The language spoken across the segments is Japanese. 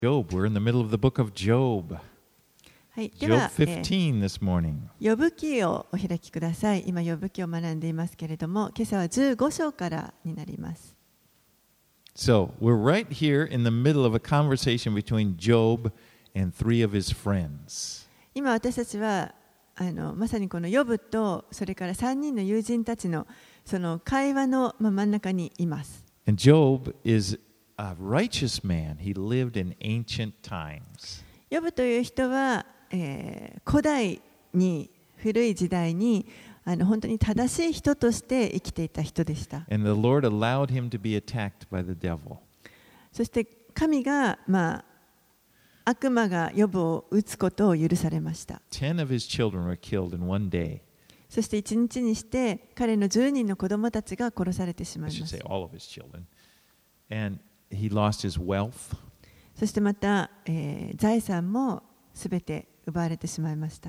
Job, we're in the middle of the book of Job. はい、で Job は、 15 this morning. ヨブ記をお開きください。今、ヨブ記を学んでいますけれども、今朝は15章からになります。 So, we're right here in the middle of a conversation between Job and three of his friends. 今、私たちはまさにこのヨブと、それから3人の友人たちのその会話の真ん中にいます。 And Job is a righteous man. He lived in ancient times. ヨブという人は、古代に古い時代に本当に正しい人として生きていた人でした。 And the Lord allowed him to be attacked by the devil. そして神が、悪魔がヨブを撃つことを許されました。 10 of his children were killed in one day. そして一日にして彼の10人の子供たちが殺されてしま I い should ます。 say all of his children. And he lost his wealth. そしてまた、財産もすべて奪われてしまいました。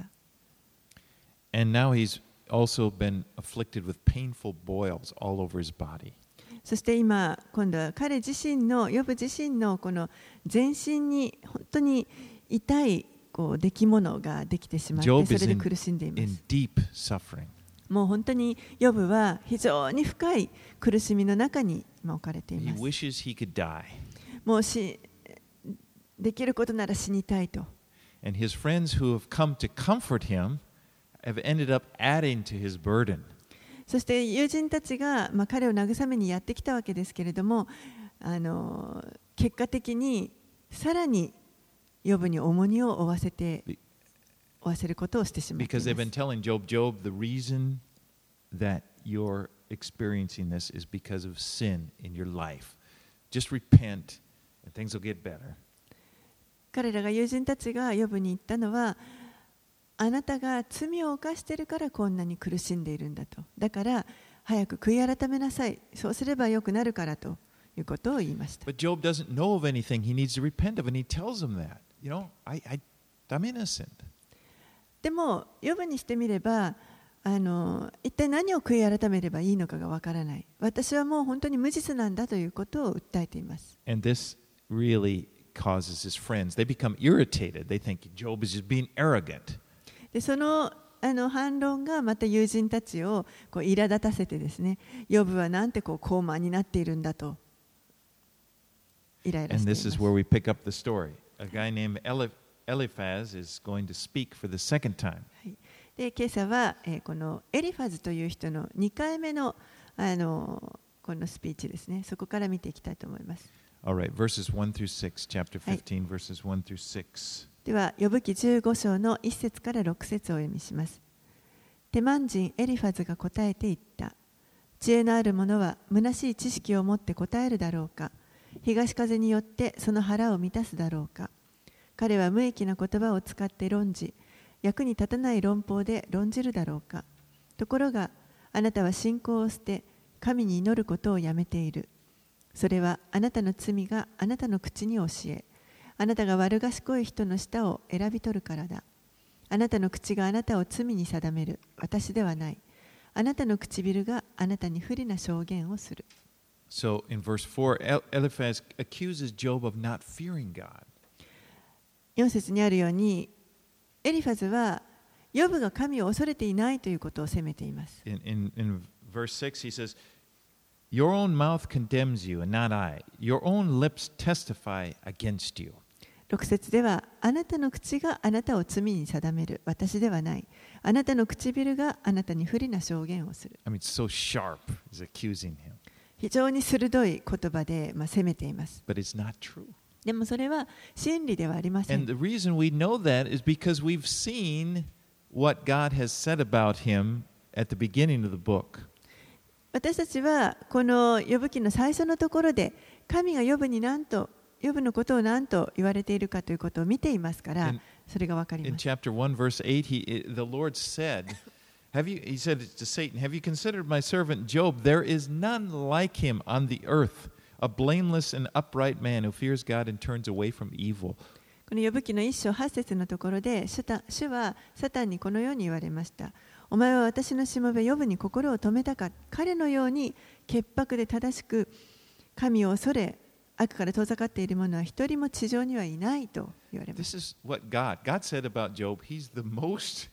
And now he's also been afflicted with painful boils all over his body. そして今度は彼自身のヨブ自身のこの全身に本当に痛い出来物ができてしまって、 Job そ is れで in, 苦しんでいま in す。 deep suffering. もう本当にヨブは非常に深い苦しみの中に今置かれてい He ます。 wishes he could die. もうできることなら死にたいと。 And his friends who have come to comfort him have ended up adding to his burden. そして友人たちが、彼を慰めにやってきたわけですけれども、結果的にさらにヨブに重荷を負わせることをしてしまってい Because they've ま been す。 telling Job, Job, the reason that you're experiencing this is because of sin in your life. Just repent and things will get better. 彼らが友人たちがヨブに言ったのは、あなたが罪を犯しているからこんなに苦しんでいるんだと。だから早く悔い改めなさい。そうすればよくなるからということを言いました。 But Job doesn't know of anything he needs to repent of, and he tells them that. I'm innocent. でも、ヨブにしてみれば、一体何を悔い改めればいいのかがわからない。私はもう本当に無実なんだということを訴えています。 And this really causes his friends, they become irritated. They think Job is just being arrogant. でその反論がまた友人たちを苛立たせてですね、ヨブはなんて高慢になっているんだとイライラ And してい this ま is す。 where we pick up the story. A guy named Eliphaz is going to speak for the second time. で今朝は、このエリファズという人の2回目の、このスピーチですね。そこから見ていきたいと思います。 All right, verses 1 through 6, chapter 15, verses 1 through 6. では、ヨブ記15章の1節から6節をお読みします。テマン人エリファズが答えて言った。知恵のある者は虚しい知識を持って答えるだろうか。東風によってその腹を満たすだろうか。彼は無益な言葉を使って論じ、役に立たない論法で論じるだろうか。ところが、あなたは信仰を捨て、神に祈ることをやめている。それはあなたの罪があなたの口に教え、あなたが悪賢い人の舌を選び取るからだ。あなたの口があなたを罪に定める。私ではない。あなたの唇があなたに不利な証言をする。 So in verse 4, Eliphaz accuses Job of not fearing God. 4節にあるように、エリファズはヨブが神を恐れていないということを責めています。 In verse 6, he says, Your own mouth condemns you and not I. Your own lips testify against you. 6節では、あなたの口があなたを罪に定める。私ではない。あなたの唇があなたに不利な証言をする。 I mean, it's so sharp, he's accusing him. 非常に鋭い言葉で、責めています。 But it's not true. でもそれは真理ではありません。 And the reason we know that is because we've seen what God has said about him at the beginning of the book. 私たちはこのヨブ記の最初のところで、神がヨブのことを何と言われているかということを見ていますから、それがわかり In ます。 chapter 1, verse 8, the Lord said, he said to Satan, Have you considered my servant Job? There is none like him on the earth, a blameless and upright man who fears God and turns away from evil. このヨブ記の1章8節のところで、主はサタンにこのように言われました。お前は私のしもべヨブに心を止めたか。彼のように潔白で正しく神を恐れ悪から遠ざかっている者は一人も地上にはいないと言われま This す。 is what God said about Job. He's the most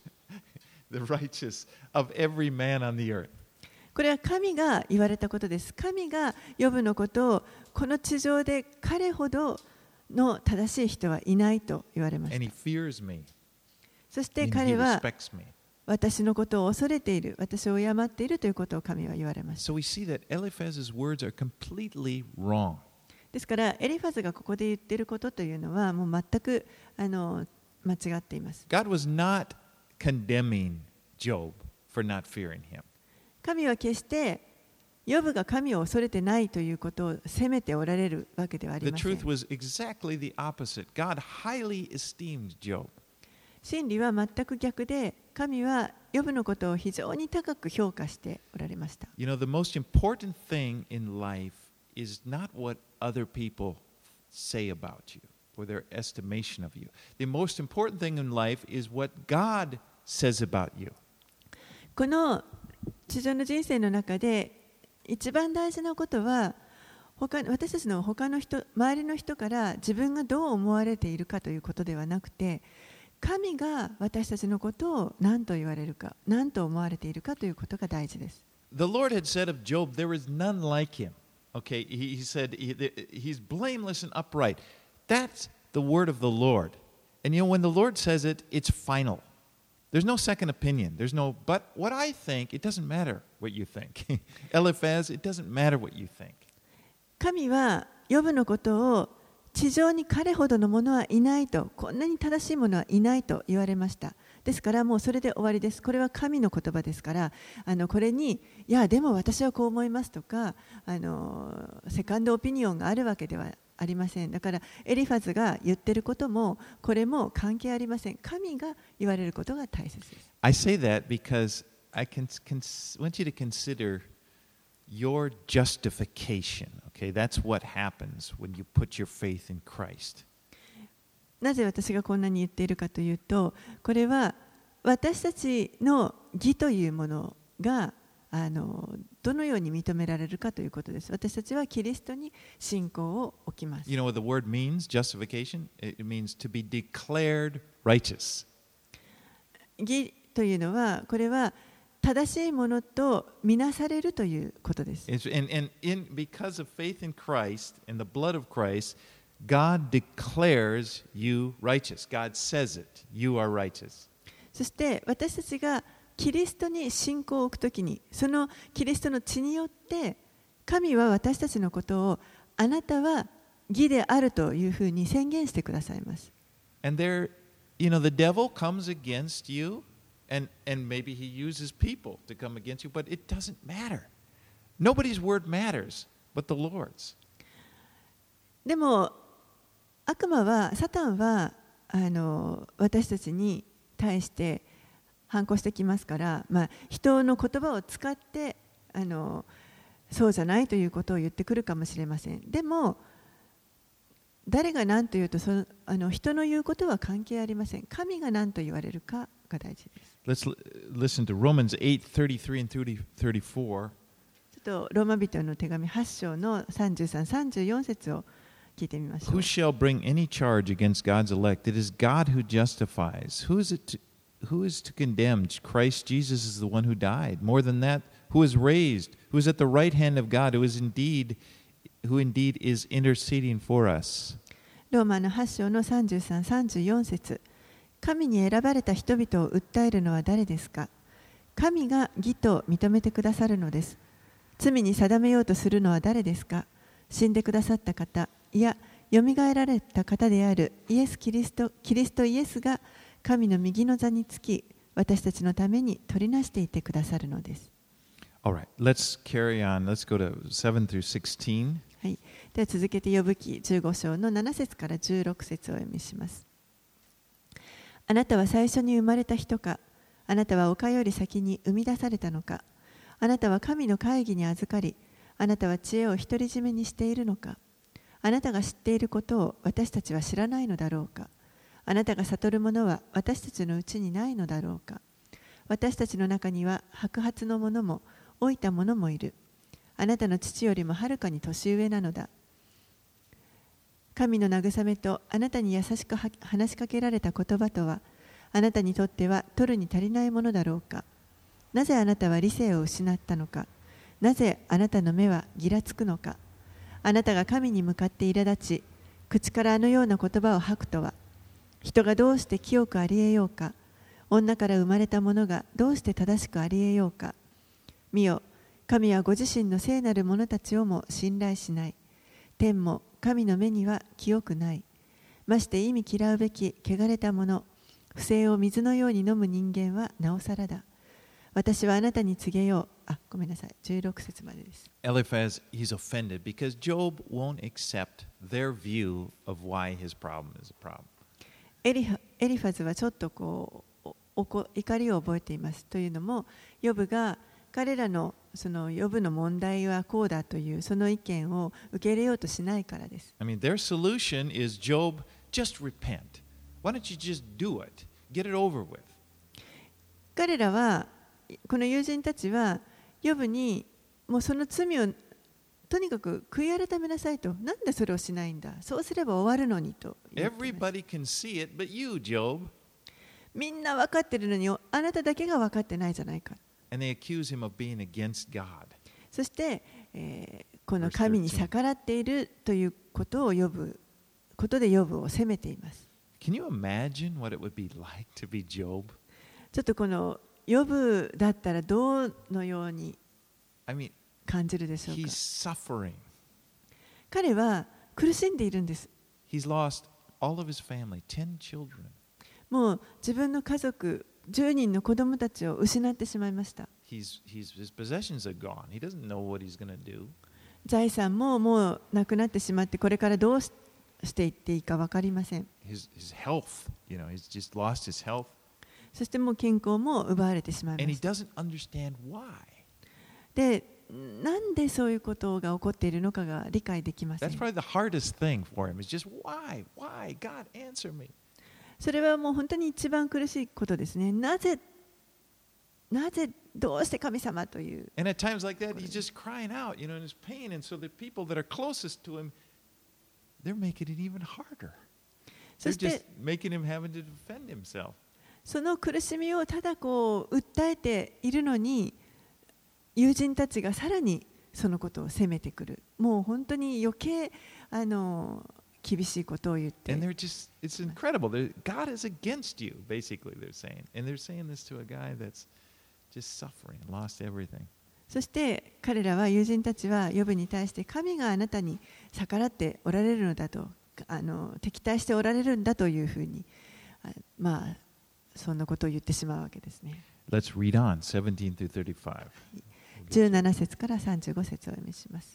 the righteous of every man on the earth. これは神が言われたことです。神がヨブのことをこの地上で彼ほどの正しい人はいないと言われまし And he た。 fears me. そして And 彼 he は respects me. 私のことを恐れている、私を敬っているということを神は言われました。 So we see that Eliphaz's words are completely wrong. ですからエリファズがここで言っていることというのはもう全く間違っています。 God was not condemning Job for not fearing him. 神は決してヨブが神を恐れてないということを責めておられるわけではあり The ません。 truth was exactly the opposite. God highly esteemed Job. 真理は全く逆で、神はヨブのことを非常に高く評価しておられました。 You know, the most important thing in life is not what other people say about you or their estimation of you. The most important thing in life is what God says about you. この地上の人生の中で一番大事なことは私たちの他の人、周りの人から自分がどう思われているかということではなくて、神が私たちのことを何と言われるか、何と思われているかということが大事です。 The Lord had said of Job, there is none like him. Okay, he said he's blameless and upright. That's the word of the Lord. And you know, when the Lord says it, it's final. There's no second opinion. There's no, but what I think, it doesn't matter what you think. Eliphaz, it doesn't matter what you think. 神はヨブのことを地上に彼ほどのものはいないと、こんなに正しいものはいないと言われました。ですからもうそれで終わりです。これは神の言葉ですから、これにいやでも私はこう思いますとかセカンドオピニオンがあるわけではありません。だからエリファズが言ってることもこれも関係ありません。神が言われることが大切です。 I say that because I want you to consider your justification. Okay, that's what happens when you put your faith in Christ. なぜ私がこんなに言っているかというと、これは私たちの義というものがどのように認められるかということです。私たちはキリストに信仰を置きます。 You know what the word means, justification? It means to be declared righteous. 義というのは、これは正しいものとみなされるということです。 Because of faith in Christ and the blood of Christ, God declares you righteous. God says it. You are righteous. そして私たちがキリストに信仰を置くときに、そのキリストの血によって神は私たちのことをあなたは義であるというふうに宣言してくださいます。 And there, you know, the devil comes against you, and maybe he uses people to come against you, but it doesn't matter. Nobody's word matters but the Lord's. でも悪魔は、サタンは私たちに対して反抗してきますから、人の言葉を使ってそうじゃないということを言ってくるかもしれません。でも誰が何と言うと人の言うことは関係ありません。神が何と言われるかが大事です。 Let's listen to Romans 8:33 and 34. ちょっとローマ人の手紙8章の33、34節を聞いてみましょう。 Who shall bring any charge against God's elect? It is God who justifies. Who is to condemn? Christ Jesus is the one who died. More than that, who is raised, who is at the right hand of God, who indeed is interceding for us. ローマの8章の33、34節。神に選ばれた人々を訴えるのは誰ですか？神が義と認めてくださるのです。罪に定めようとするのは誰ですか？死んでくださった方、いや、よみがえられた方であるキリストイエスが神の右の座につき、私たちのために取りなしていてくださるのです。 All right, let's carry on. Let's go to 7 through 16. はい、では続けてヨブ記15章の7節から16節をお読みします。あなたは最初に生まれた人か、あなたは丘より先に生み出されたのか、あなたは神の会議に預かり、あなたは知恵を独り占めにしているのか、あなたが知っていることを私たちは知らないのだろうか、あなたが悟るものは私たちのうちにないのだろうか、私たちの中には白髪の者も老いた者もいる。あなたの父よりもはるかに年上なのだ。 神の慰めとあなたに優しく話しかけられた言葉とは、あなたにとっては取るに足りないものだろうか。なぜあなたは理性を失ったのか。なぜあなたの目はぎらつくのか。あなたが神に向かって苛立ち、口からあのような言葉を吐くとは、人がどうして清くありえようか。女から生まれた者がどうして正しくありえようか。見よ、神はご自身の聖なる者たちをも信頼しない。天も神の目には清くない。まして意味嫌うべき汚れた者、不正を水のように飲む人間はなおさらだ。私はあなたに告げよう。ごめんなさい。16節までです。 Eliphaz, he's offended because Job won't accept their view of why his problem is a problem. エリファズはちょっと怒りを覚えています。というのも、ヨブが彼らのそのヨブの問題はこうだというその意見を受け入れようとしないからです。 I mean, their solution is Job, just repent. Why don't you just do it? Get it over with. 彼らは、この友人たちは、ヨブにもうその罪をとにかく悔い改めなさいと。なんでそれをしないんだ。そうすれば終わるのにと言っています。 Everybody can see it, but you, Job. みんな分かってるのに、あなただけが分かってないじゃないか。 And they accuse him of being against God. そして、この神に逆らっているということをことでヨブを責めています。 Can you imagine what it would be like to be Job? ちょっとこのヨブだったらどのように感じるでしょうか。 He's suffering. 彼は苦しんでいるんです。 He's lost all of his family, 10 children. もう自分の家族10人の子供たちを失ってしまいました。 His possessions are gone. He doesn't know what he's going to do. 財産ももうなくなってしまって、これからどうしていっていいか分かりません。 His health, he's just lost his health. そしてもう健康も奪われてしまい And ま he した。 doesn't understand why. で、なんでそういうことが起こっているのかが理解できません。 That's probably the hardest thing for him. Is just why? God, answer me. それはもう本当に一番苦しいことですね。なぜ、どうして神様という。 And at times like that, he's just crying out, in his pain. And so the people that are closest to him, they're making it even harder. そ They're して just making him having to defend himself. その苦しみをただ訴えているのに、友人たちがさらにそのことを責めてくる。もう本当に余計厳しいことを言って。 And it's incredible. God is against you, basically, they're saying. And they're saying this to a guy that's just suffering, lost everything. そして彼らは友人たちはヨブに対して神があなたに逆らっておられるのだと、敵対しておられるんだというふうに、そんなことを言ってしまうわけですね。 Let's read on, 17 through 35. 17節から35節をお読みします。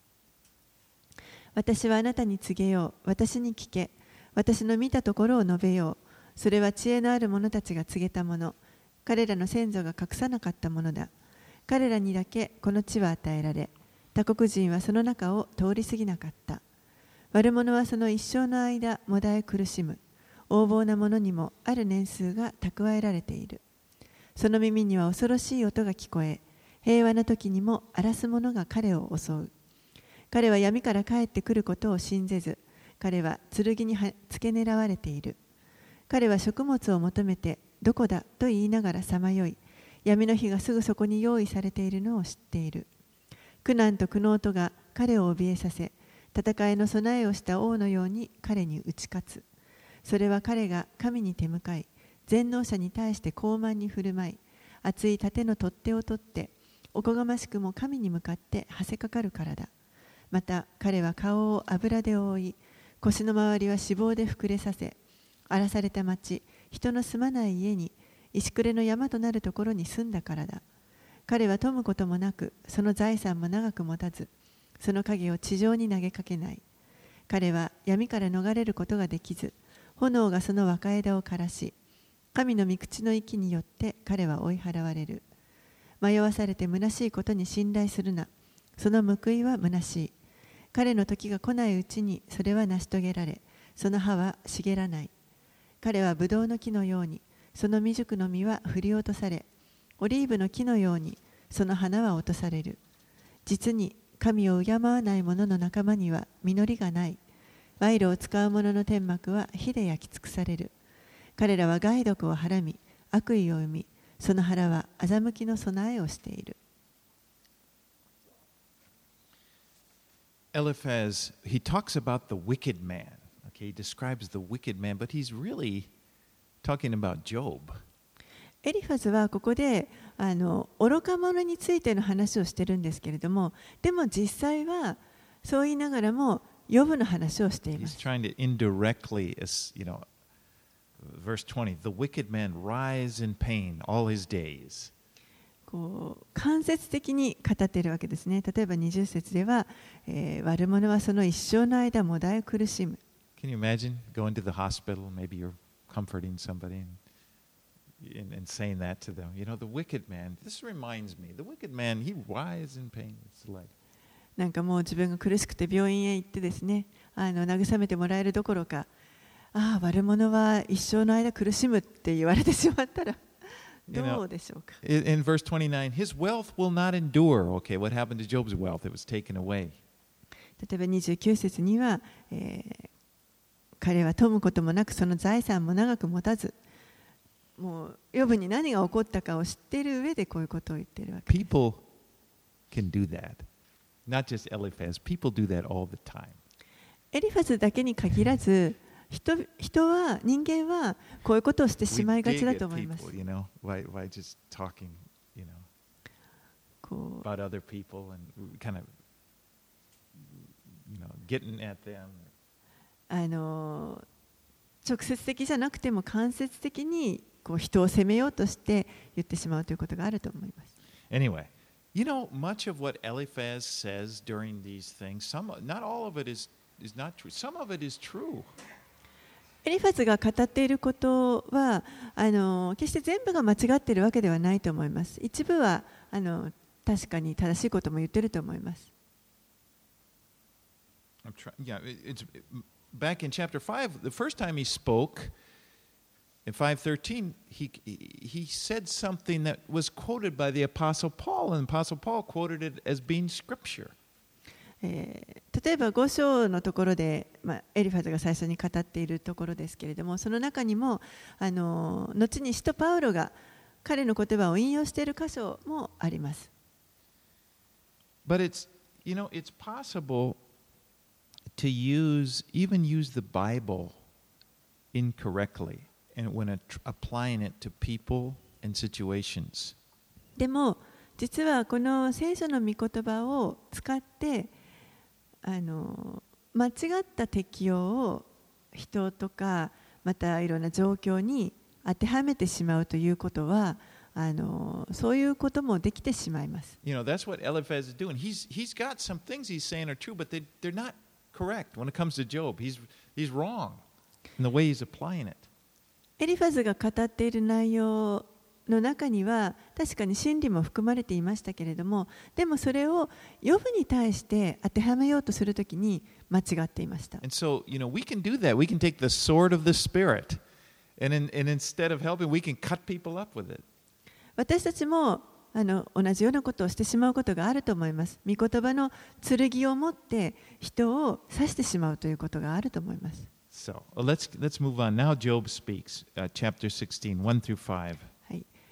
私はあなたに告げよう。私に聞け。私の見たところを述べよう。それは知恵のある者たちが告げたもの。彼らの先祖が隠さなかったものだ。彼らにだけこの地は与えられ、他国人はその中を通り過ぎなかった。悪者はその一生の間もだえ苦しむ。横暴な者にもある年数が蓄えられている。その耳には恐ろしい音が聞こえ、平和な時にも荒らす者が彼を襲う。彼は闇から帰ってくることを信ぜず、彼は剣に付け狙われている。彼は食物を求めて、どこだと言いながらさまよい、闇の日がすぐそこに用意されているのを知っている。苦難と苦悩とが彼を怯えさせ、戦いの備えをした王のように彼に打ち勝つ。それは彼が神に手向かい、全能者に対して高慢に振る舞い、厚い盾の取っ手を取って、おこがましくも神に向かってはせかかるからだ。また彼は顔を油で覆い、腰の周りは脂肪で膨れさせ、荒らされた町、人の住まない家に、石暮れの山となるところに住んだからだ。彼は富むこともなく、その財産も長く持たず、その影を地上に投げかけない。彼は闇から逃れることができず、炎がその若枝を枯らし、神の御口の息によって彼は追い払われる。迷わされて虚しいことに信頼するな。その報いは虚しい。彼の時が来ないうちにそれは成し遂げられ、その葉は茂らない。彼はブドウの木のように、その未熟の実は振り落とされ、オリーブの木のように、その花は落とされる。実に神を敬わない者の仲間には実りがない。 賄賂を使う者の天幕は火で焼き尽くされる。彼らは害毒をはらみ、悪意を生み、その腹は欺きの備えをしている。 Eliphaz, he talks about the wicked man. Okay, he describes the wicked man, but he's really talking about Job. エリファズはここで愚か者についての話をしてるんですけれども、でも実際はそう言いながらもヨブの話をしていま He's す。 trying to indirectly, verse 20, the wicked man rise in pain all his days. こう間接的に語っているわけですね。例えば20節では、悪者はその一生の間もだえ苦しむ。 Can you imagine going to the hospital? Maybe you're comforting somebody and saying that to them. The wicked man, this reminds me, the wicked man, he rises in pain. It's like, なんかもう自分が苦しくて病院へ行ってですね、慰めてもらえるどころか、悪者は一生の間苦しむって言われてしまったらどうでしょうか。 In verse 29, his wealth will not endure. Okay, what happened to Job's wealth? It was taken away. 例えば29節には、彼は富むこともなくその財産も長く持たず、もうヨブに何が起こったかを知っている上でこういうことを言っているわけです。 People can do that. Not just Eliphaz. People do that all the time. エリファズだけに限らず、人間はこういうことをしてしまいがちだと思います。 Why just talking, about other people and kind of, getting at them. 直接的じゃなくても間接的に人を責めようとして言ってしまうということがあると思います。 Anyway, much of what Eliphaz says during these things, not all of it is not true. Some of it is true. エリファズが語っていることは決して全部が間違っているわけではないと思います。一部は確かに正しいことも言っていると思います。 Back in chapter 5, the first time he spoke, in 5:13, he said something that was quoted by the Apostle Paul, and Apostle Paul quoted it as being scripture. 例えば5章のところで、エリファズが最初に語っているところですけれども、その中にも後に使徒パウロが彼の言葉を引用している箇所もあります。 But it's possible to even use the Bible incorrectly and when applying it to people and situations. でも実はこの聖書の御言葉を使って間違った適用を人とかまたいろんな状況に当てはめてしまうということはそういうこともできてしまいます。 That's what Eliphaz is doing. He's got some things he's saying are true, but they're not correct when it comes to Job. He's wrong in the way he's applying it. エリファズが語っている内容の中には確かに真理も含まれていましたけれども、でもそれをヨブに対して当てはめようとするときに間違っていました。 And so, we can do that. We can take the sword of the Spirit, and instead of helping, we can cut people up with it. 私たちも同じようなことをしてしまうことがあると思います。御言葉の剣を持って人を刺してしまうということがあると思います。 So let's move on. Now Job speaks, chapter 16, 1 through 5. はい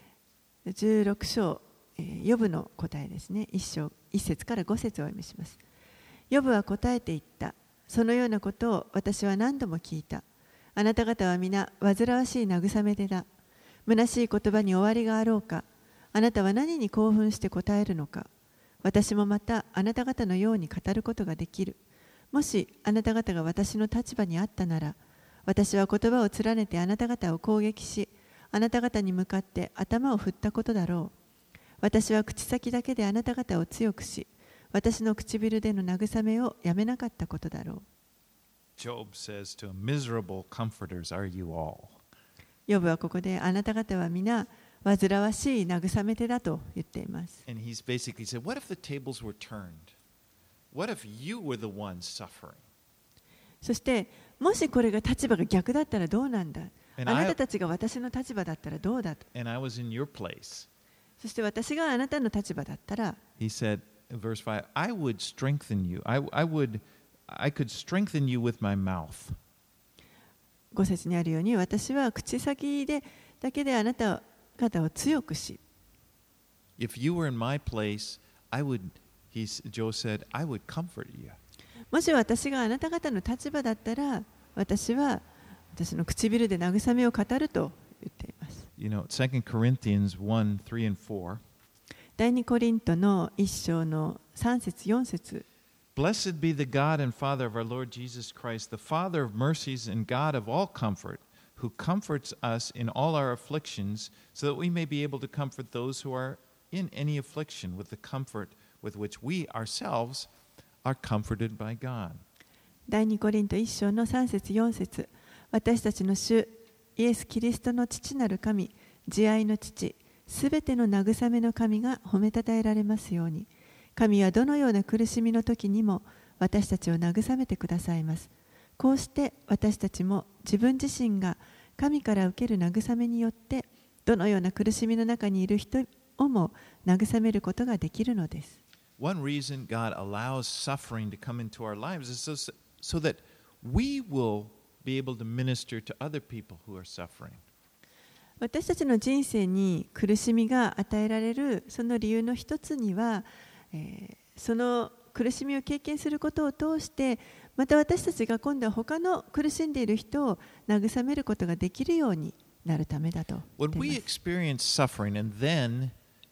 、16章、ヨブの答えですね。1節から5節をお読みします。ヨブは答えて言った。そのようなことを私は何度も聞いた。あなた方は皆煩わしい慰め手だ。虚しい言葉に終わりがあろうか。あなたは何に興奮して答えるのか。私もまたあなた方のように語ることができる。もしあなた方が私の立場にあったなら、私は言葉を連ねてあなた方を攻撃し、あなた方に向かって頭を振ったことだろう。私は口先だけであなた方を強くし、私の唇での慰めをやめなかったことだろう。 Job says to him, miserable comforters are you all. ヨブはここであなた方は皆煩わしい慰め手だと言っています。 And he's basically said, what if the tables were turned?What if you were the one suffering? そしてもしこれが立場が逆だったらどうなんだ。あなたたちが私の立場だったらどうだと。 And I was in your place. そして私があなたの立場だったら。 He said, verse 5, I would strengthen you. I would I could strengthen you with my mouth. 5節にあるように、私は口先でだけであなた方を強くし、 If you were in my place, Joe said, I would comfort you. もし私があなた方の立場だったら、私は私の唇で慰めを語ると言っています。 You know, 2 Corinthians 1, 3 and 4. 第2コリントの1章の3節4節。 Blessed be the God and Father of our Lord Jesus Christ, the Father of mercies and God of all comfort, who comforts us in all our afflictions, so that we may be able to comfort those who are in any affliction with the comfort with which we ourselves are comforted by God. 第2コリント1章の3節4節。私たちの主イエス・キリストの父なる神、慈愛の父、すべての慰めの神が褒めたたえられますように。神はどのような苦しみの時にも私たちを慰めてくださいます。こうして私たちも自分自身が神から受ける慰めによってどのような苦しみの中にいる人をも慰めることができるのです。 One reason God allows suffering to come into our lives is so that we will be able to minister to other people who are suffering. 私たちの人生に苦しみが与えられるその理由の一つには、その苦しみを経験することを通してまた私たちが今度は他の苦しんでいる人を慰めることができるようになるためだと言っています。 When we experience suffering and then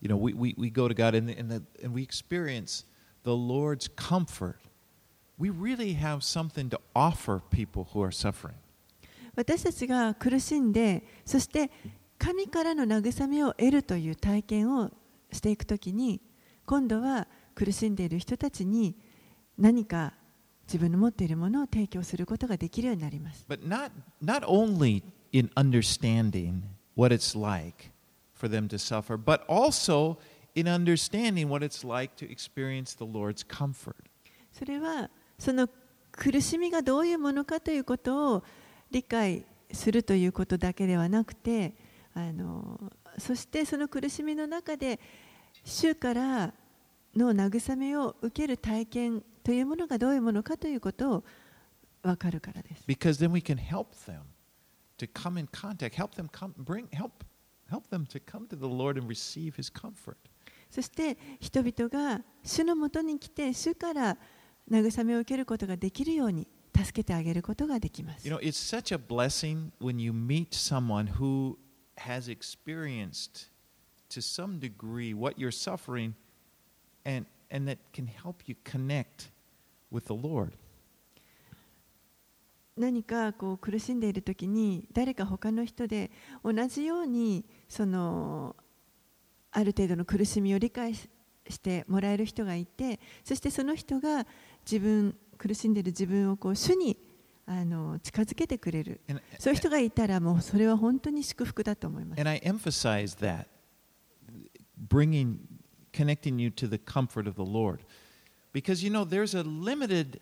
we go to God and we experience the Lord's comfort, we really have something to offer people who are suffering. 私たちが苦しんでそして神からの慰めを得るという体験をしていくときに今度は苦しんでいる人たちに何か自分の持っているものを提供することができるようになります。 But not only in understanding what it's like for them to suffer, but also in understanding what it's like to experience the Lord's comfort. それはその苦しみがどういうものかということを理解するということだけではなくて、そしてその苦しみの中で主からの慰めを受ける体験というものがどういうものかということを分かるからです。 Because then we can help them to come in contact, help them to come to the Lord and receive His comfort. そして人々が主のもとに来て主から慰めを受けることができるように助けてあげることができます。 You know, it's such a blessing when you meet someone who has experienced to some degree what you're suffering and that can help you connect with the Lord. 何かこう苦しんでいるときに誰か他の人で同じようにある程度の苦しみを理解してもらえる人がいて、そしてその人が苦しんでいる自分をこう主に近づけてくれる、そういう人がいたらもうそれは本当に祝福だと思います。 And I emphasize that, connecting you to the comfort of the Lord, because there's a limited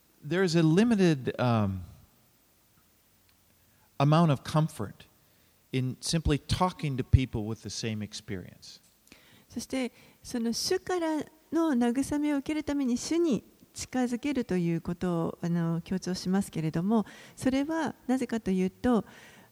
amount of comfort in simply talking to people with the same experience. そしてその主からの慰めを受けるために主に近づけるということを強調しますけれども、それはなぜかというと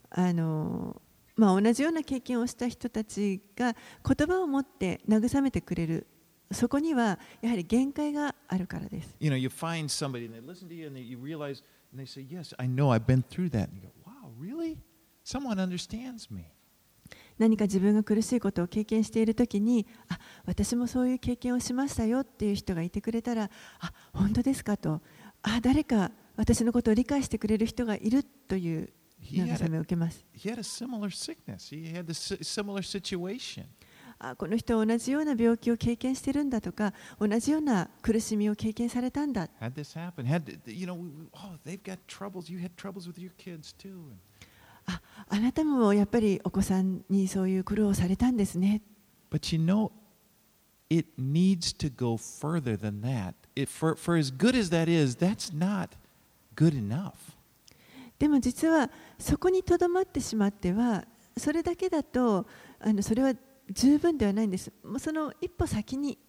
同じような経験をした人たちが言葉を持って慰めてくれる、そこにはやはり限界があるからです。 You find somebody and they listen to you and you realize and they say, "Yes, I know. I've been through that." And you go, "Wow, really? Someone understands me." 何か自分が苦しいことを経験しているときに、私もそういう経験をしましたよっていう人がいてくれたら、本当ですかと、誰か私のことを理解してくれる人がいるという慰めを受けます。 He had a similar sickness. He had a similar situation. この人は同じような病気を経験しているんだとか、同じような苦しみを経験されたんだ。 Had this happen? They've got troubles. You had troubles with your kids too. あなたもやっぱりお子さんにそういう苦労をされたんですね。 But it needs to go further than that. For as good as that is, that's not good enough. でも実はそこにとどまってしまっては、それだけだとそれは十分ではないんです。その一歩先に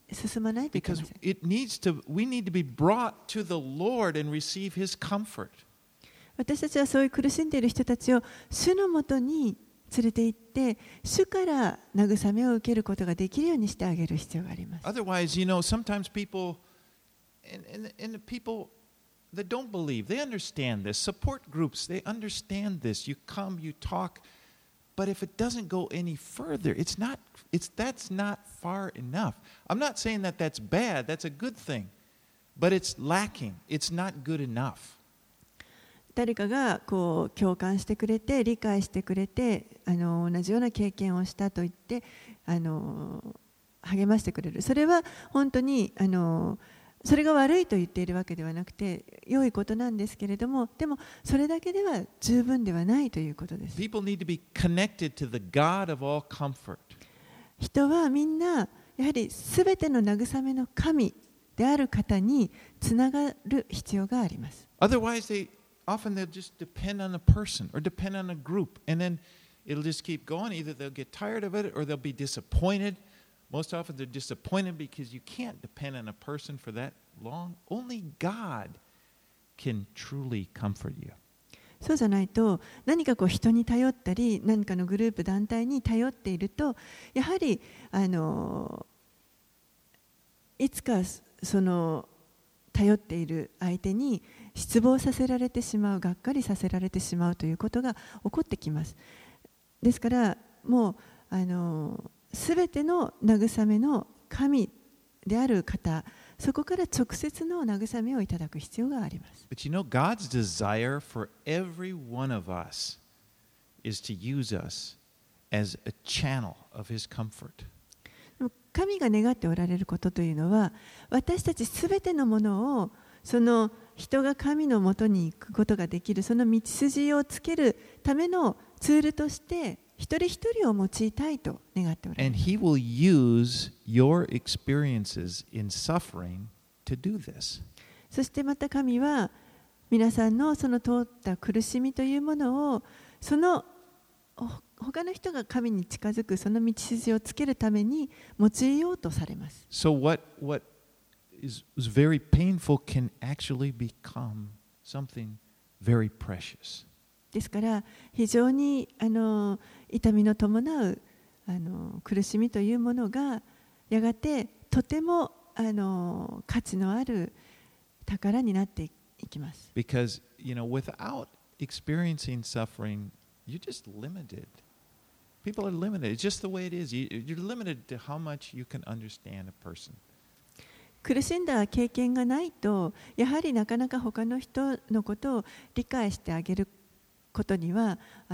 進まないといけま Because せん。 we need to be brought to the Lord and receive His comfort. 私たちはそういう苦しんでいる人たちを主のもとに連れて行って、主から慰めを受けることができるようにしてあげる必要があります。 Otherwise, sometimes people and the people that don't believe, they understand this. Support groups, they understand this. You come, you talk, but if it doesn't go any further, that's not far enough. I'm not saying that that's bad, that's a good thing, but it's lacking. It's not good enough. 誰かがこう共感してくれて理解してくれて同じような経験をしたと言って励ましてくれる。それは本当にそれが悪いと言っているわけではなくて良いことなんですけれども、でもそれだけでは十分ではないということです。 People need to be connected to the God of all comfort. 人はみんなやはりすべての慰めの神である方につながる必要があります。 Otherwise, often they'll just depend on a person or depend on a group, and then it'll just keep going. Either they'll get tired of it or they'll be disappointed. Most often they're disappointed because you can't depend on a person for that long. Only God can truly comfort you. そうじゃないと何かこう人に頼ったり何かのグループ団体に頼っているとやはりいつかその頼っている相手に失望させられてしまう、がっかりさせられてしまうということが起こってきます。ですからもうすべての慰めの神である方、そこから直接の慰めをいただく必要があります。 But God's desire for every one of us is to use us as a channel of His comfort. 神が願っておられることというのは、私たちすべてのものをその人が神のもとに行くことができる、その道筋をつけるためのツールとして一人一人を用いたいと願っておられます。 And He will use your experiences in suffering to do this. そしてまた神は皆さんのその通った苦しみというものをその他の人が神に近づくその道筋をつけるために用いようとされます。 So what is very painful can actually become something very precious. ですから非常に痛みの伴う苦しみというものがやがてとても価値のある宝になっていきます。 Because, without experiencing suffering, you're just limited. People are limited. It's just the way it is. You're limited to how much you can understand a person. 苦しんだ経験がないとやはりなかなか他の人のことを理解してあげることには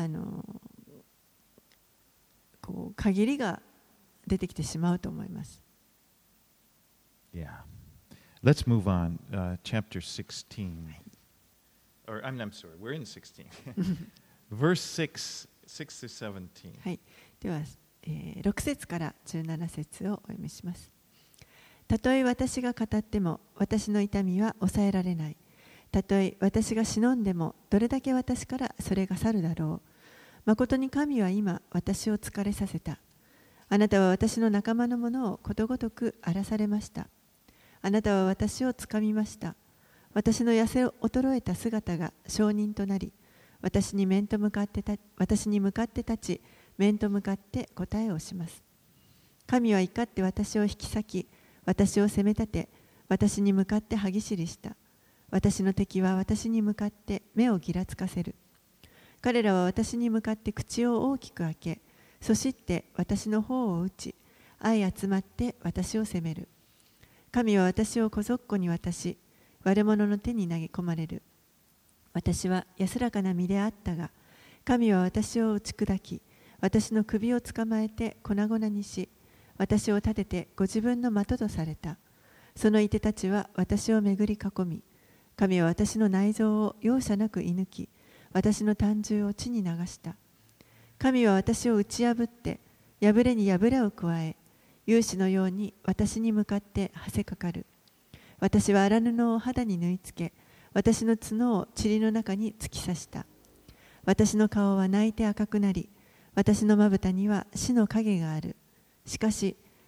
こう限りが出てきてしまうと思います。 Yeah. Let's move on. Chapter 16. Or I'm sorry. We're in 16. Verse 6 to 17. はい。では、6節から17節をお読みします。たとえ私が語っても私の痛みは抑えられない。たとえ私が忍んでもどれだけ私からそれが去るだろう。まことに神は今私を疲れさせた。あなたは私の仲間のものをことごとく荒らされました。あなたは私をつかみました。私の痩せ衰えた姿が証人となり、私に向かって立ち、面と向かって答えをします。神は怒って私を引き裂き、私を責め立て、私に向かって歯ぎしりした。私の敵は私に向かって目をぎらつかせる。彼らは私に向かって口を大きく開け、そして私の方を打ち、相集まって私を責める。神は私を小僧に渡し、悪者の手に投げ込まれる。私は安らかな身であったが、神は私を打ち砕き、私の首を捕まえて粉々にし、私を立ててご自分の的とされた。そのいてたちは私を巡り囲み、神は私の内臓を容赦なく射抜き、私の胆汁を地に流した。神は私を打ち破って、破れに破れを加え、勇士のように私に向かってはせかかる。私は荒布を肌に縫い付け、私の角を塵の中に突き刺した。私の顔は泣いて赤くなり、私のまぶたには死の影がある。しかし、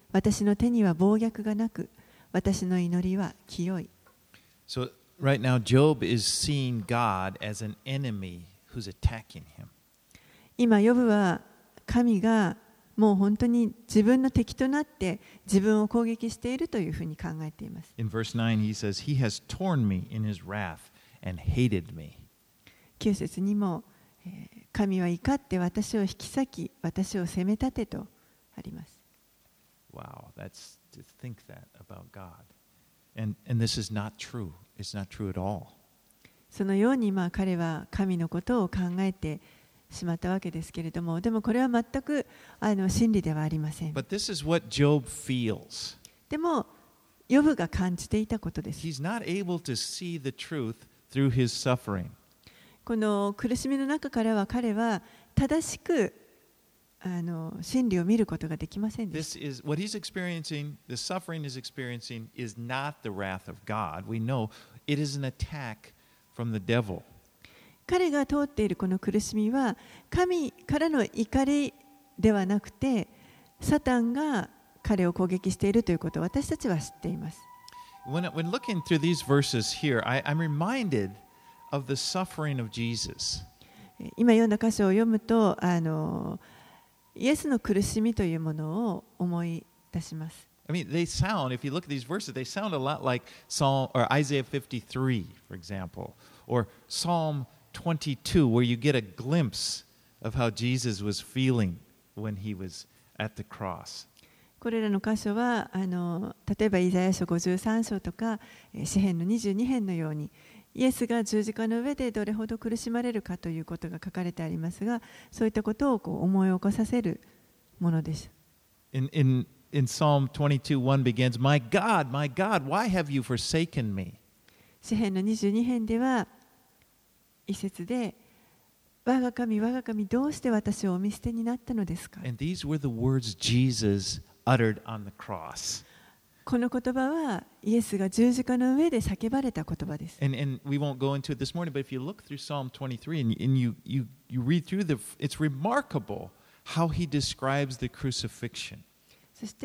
私の手には暴虐がなく、私の祈りは清い。 So right now, Job is seeing God as an enemy who's attacking him. 今、ヨブは神がもう本当に自分の敵となって自分を攻撃しているというふうに考えています。 In verse 9, he says, He has torn me in his wrath and hated me. 9節にも、神は怒って私を引き裂き、私を責め立てとあります。 Wow, that's to think that about God. And this is not true. It's not true at all. そのように彼は神のことを考えてしまったわけですけれども、でもこれは全く真理ではありません。 But this is what Job feels. でも、ヨブが感じていたことです。 He's not able to see the truth through his suffering. この苦しみの中からは彼は正しく真理を見ることができませんでした。 This is what he's experiencing, the suffering he's experiencing is not the wrath of God. We know it is an attack from the devil. 彼が通っているこの苦しみは神からの怒りではなくて、サタンが彼を攻撃しているということを私たちは知っています。 When looking through these verses here, I'm reminded of the suffering of Jesus. 今読んだ箇所を読むと、イエスの苦しみというものを思い出します。 I mean, they sound, if you look at these verses, they sound a lot like Psalm or Isaiah 53, for example, or Psalm 22, where you get a glimpse of how Jesus was feeling when he was at the cross. これらの箇所は例えばイザヤ書53章とか詩編の22編のように、イエスが十字架の上でどれほど苦しまれるかということが書かれてありますが、そういったことを思い起こさせるものです。 In Psalm 22:1 begins, My God, why have you forsaken me? 詩編の22編では一節で、我が神、我が神、どうして私をお見捨てになったのですか。 And these were the words Jesus uttered on the cross. この言葉はイエスが十字架の上で叫ばれた言葉です。 And we won't go into it this morning, but if you look through Psalm 23 and you read through it's remarkable how he describes the crucifixion. そして、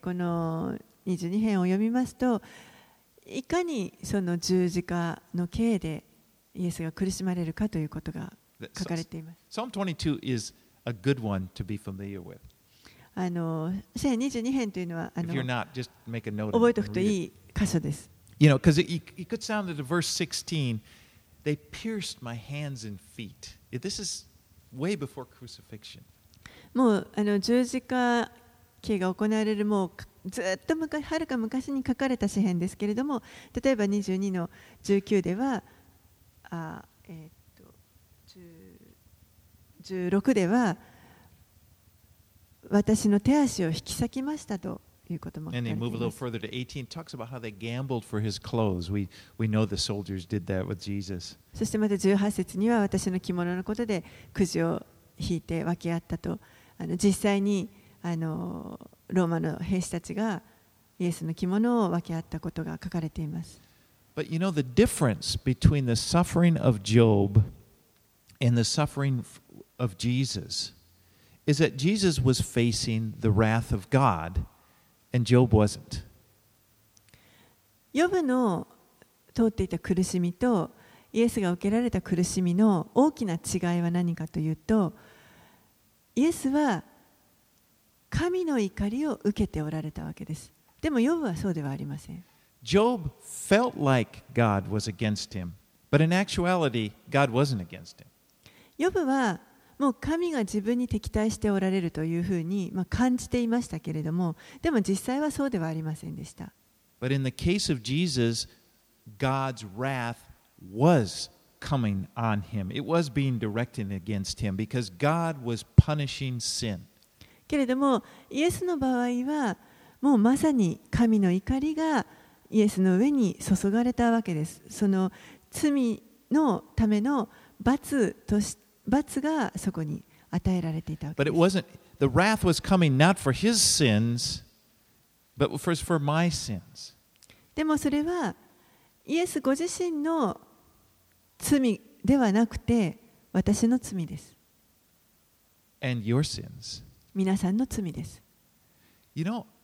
この22編を読みますと、いかにその十字架の刑でイエスが苦しまれるかということが書かれています。 Psalm 22 is a good one to be familiar with. 詩編22編というのは If you're not, just make a note. 覚えておくといい箇所です。 You know, because it could sound at verse 16, they pierced my hands and feet. This is way before crucifixion. もう十字架刑が行われるもうずっとはるか昔に書かれた詩編ですけれども、例えば22の19では16では私の手足を引き裂きましたということも書か And れ they てい move a ま little す。 further to 18, talks about how they gambled for his clothes. We know the soldiers did that with Jesus. そしてまた18節には私の着物のことでくじを引いて分け合ったと、実際にローマの兵士たちがイエスの着物を分け合ったことが書かれています。 But you know, the difference between the suffering of Job and the suffering of Jesus is that Jesus was facing the wrath of God and Job wasn't. ヨブの通っていた苦しみとイエスが受けられた苦しみの大きな違いは何かというと、イエスは神の怒りを受けておられたわけです。でもヨブはそうではありません。 Job felt like God was against him, but in actuality, God wasn't against him. ヨブはもう神が自分に敵対しておられるというふうに感じていましたけれども、でも実際はそうではありませんでした。 But in the case of Jesus, God's wrath was coming on him. It was being directed against him because God was punishing sin. けれどもイエスの場合はもうまさに神の怒りがイエスの上に注がれたわけです。その罪のための罰がそこに与えられていたわけです。 But it wasn't, the wrath was coming not for his sins, but for my sins. でもそれはイエスご自身の罪ではなくて私の罪です。 And your sins. 皆さんの罪です。 You know,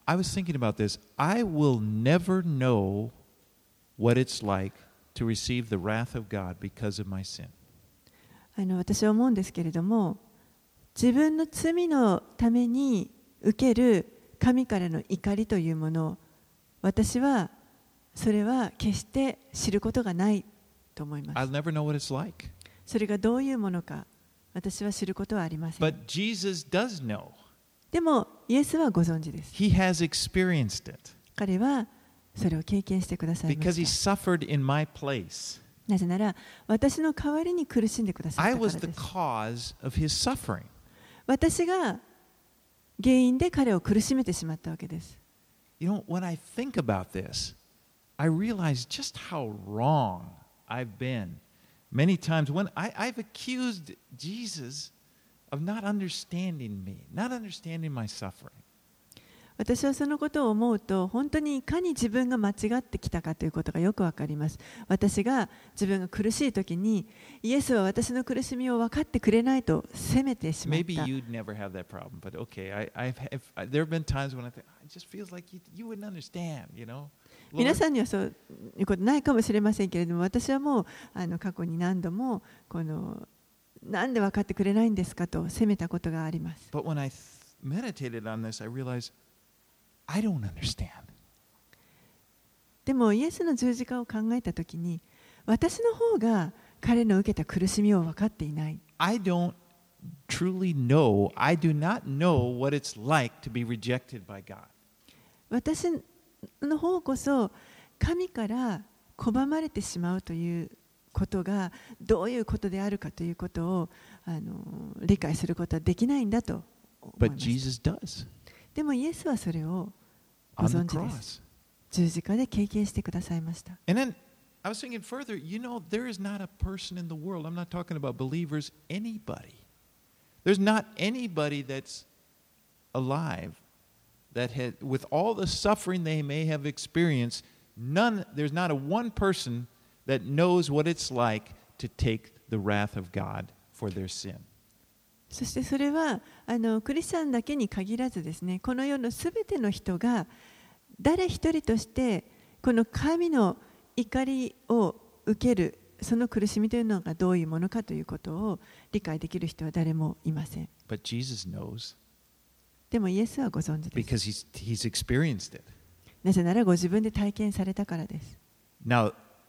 I was thinking about this. I will never know what it's like to receive the wrath of God because of my sin. 私は思うんですけれども、自分の罪のために受ける神からの怒りというものを、私はそれは決して知ることがないと思います。 I'll never know what it's like. それがどういうものか、私は知ることはありません。 But Jesus does know. でも、イエスはご存知です。 He has experienced it 彼はそれを経験してくださいま because he した。 suffered in my place. なぜなら、私の代わりに苦しんでくださっ I たから was で the す。 cause of his suffering. 私が原因で彼を苦しめてしまったわけです。 You know, when I think about this, I realize just how wrong I've been. Many times when I've accused Jesus of not understanding me, not understanding my suffering. 私はそのことを思うと、本当にいかに自分が間違ってきたかということがよくわかります。私が自分が苦しいときに、イエスは私の苦しみを分かってくれないと責めてしまっ Maybe た。 you'd never have that problem, but okay, there have been times when I think, it just feels like you wouldn't understand, you know? 皆 Lord, さんにはそういうことないかもしれませんけれども、私はもう過去に何度もなんで分かってくれないんですかと責めたことがあります。 but when I meditated on this, I realized I don't understand. でもイエスの十字架を考えたときに、私の方が彼の受けた苦しみを分かっていない。 I don't truly know, I do not know what it's like to be rejected by God. 私の方こそ神から拒まれてしまうということがどういうことであるかということを理解することはできないんだと思い But ます。 Jesus does でもイエスはそれをご on the 存知です。 cross. 十字架で経験してくださいました。 And then I was thinking further, you know, there is not a person in the world, I'm not talking about believers, anybody. There's not anybody that's alive that had, with all the suffering they may have experienced, there's not a one person that knows what it's like to take the wrath of God for their sin. そしてそれはクリスチャンだけに限らずですね、この世のすべての人が誰一人としてこの神の怒りを受けるその苦しみというのがどういうものかということを理解できる人は誰もいません。 But Jesus knows でもイエスはご存知です。 because he's experienced it. なぜならご自分で体験されたからです。 Now,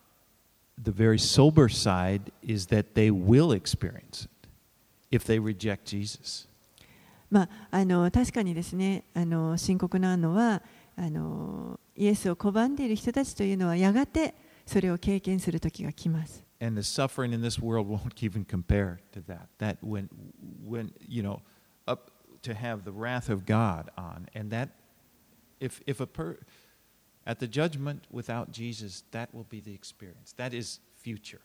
the very sober side is that they will experience it if they reject Jesus. 確かにですね、深刻なのはイエスを拒んでいる人たちというのはやがてそれを経験する時が来ます。 And the suffering in this world won't even compare to that. That when you know, up to have the wrath of God on, and that if at the judgment without Jesus, that will be the experience. That is future.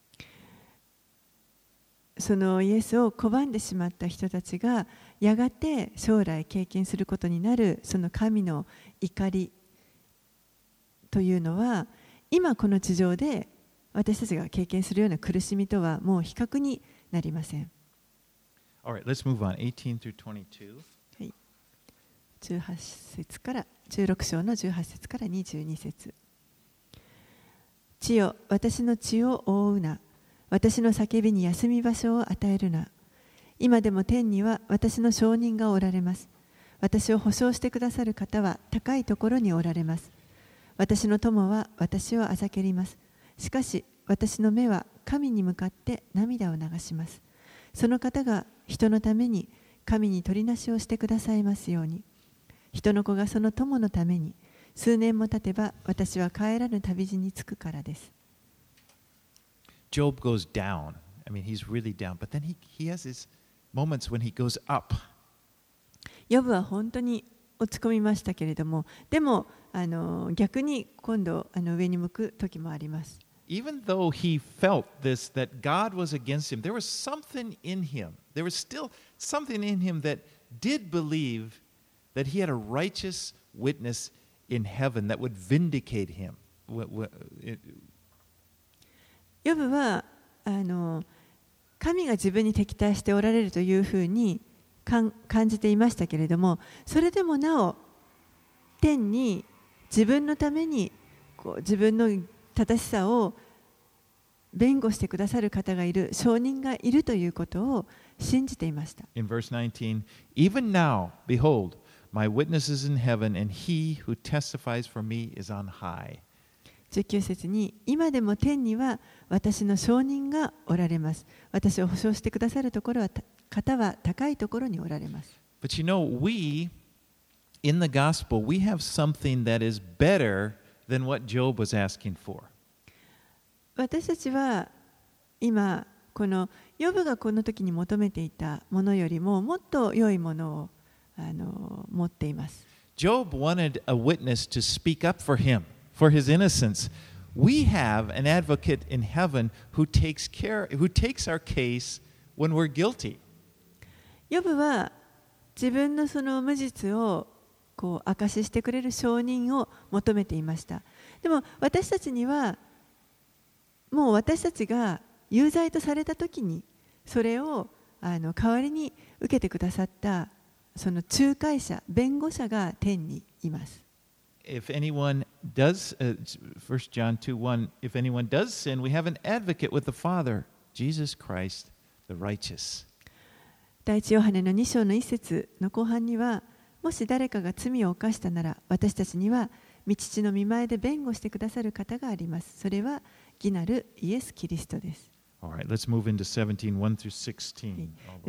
そのイエスを拒んでしまった人たちがやがて将来経験することになるその神の怒りというのは今この地上で私たちが経験するような苦しみとはもう比較になりません。 All right, let's move on. 18 through 22. はい、18節から16章の18節から22節。地よ、私の血を覆うな。私の叫びに休み場所を与えるな。今でも天には私の証人がおられます。私を保証してくださる方は高いところにおられます。私の友は私をあざけります。しかし私の目は神に向かって涙を流します。その方が人のために神に取りなしをしてくださいますように。人の子がその友のために数年も経てば私は帰らぬ旅路に着くからです。 Job goes down. I mean, he's really down. But then he has his moments when he goes up. ヨブは本当に落ち込みましたけれども、でも逆に今度上に向く時もあります。 Even though he felt this, that God was against him, there was something in him. There was still something in him that did believe that he had a righteous witness in heaven that would vindicate him. ヨブは神が自分に敵対しておられるというふうに感じていましたけれども、それでもなお天に自分のために自分の正しさを弁護してくださる方がいる、証人がいるということを信じていました。 In verse 19, even now, behold, my witness is in heaven, and he who testifies for me is on high. 19節に、今でも天には私の証人がおられます。私を保証してくださるところは方は高いところにおられます。 But you know, we, in the gospel, we have something that is better than what Job was asking for. 私たちは今このヨブがこの時に求めていたものよりももっと良いものを持っています。 Job wanted a witness to speak up for him, for his innocence. We have an advocate in heaven who takes our case when we're guilty. ヨブは自分のその無実を証ししてくれる証人を求めていました。でも私たちにはもう私たちが有罪とされたときにそれを代わりに受けてくださったその仲介者、弁護者が天にいます。 If anyone does, 1 John 2:1, if anyone does sin, we have an advocate with the Father, Jesus Christ, the righteous. 第一ヨハネの2章の1節の後半には、もし誰かが罪を犯したなら、私たちには御父の御前で弁護してくださる方があります。それは義なるイエス・キリストです。 Alright, let's move into 17, 1 through 16.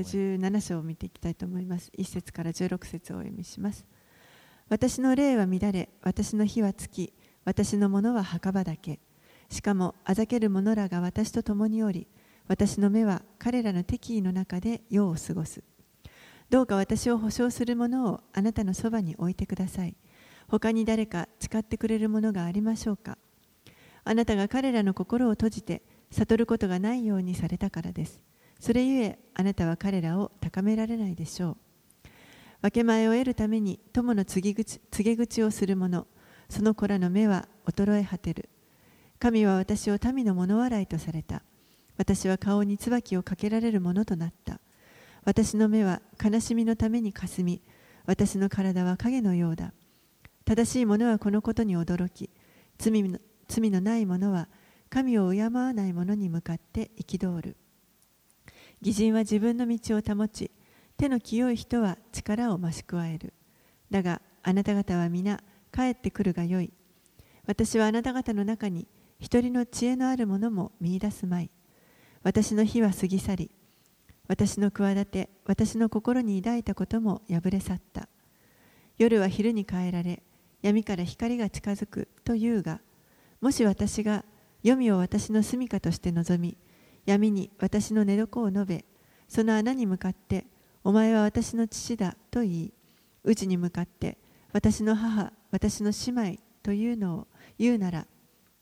17章を見ていきたいと思います。1節から16節をお読みします。私の霊は乱れ、私の火は尽き、私のものは墓場だけ。しかも、あざける者らが私と共におり、私の目は彼らの敵意の中で世を過ごす。どうか私を保証する者をあなたのそばに置いてください。他に誰か誓ってくれるものがありましょうか。あなたが彼らの心を閉じて悟ることがないようにされたからです。それゆえあなたは彼らを高められないでしょう。分け前を得るために友の告げ口をする者、その子らの目は衰え果てる。神は私を民の物笑いとされた。私は顔に椿をかけられるものとなった。私の目は悲しみのためにかすみ、私の体は影のようだ。正しい者はこのことに驚き、罪のない者は神を敬わない者に向かって憤る。義人は自分の道を保ち、手の清い人は力を増し加える。だがあなた方は皆帰ってくるがよい。私はあなた方の中に一人の知恵のある者も見出すまい。私の火は過ぎ去り、私の企て、私の心に抱いたことも破れ去った。夜は昼に変えられ、闇から光が近づくというが、もし私が黄泉を私の住処として望み、闇に私の寝床を述べ、その穴に向かって、お前は私の父だと言い、内に向かって、私の母、私の姉妹というのを言うなら、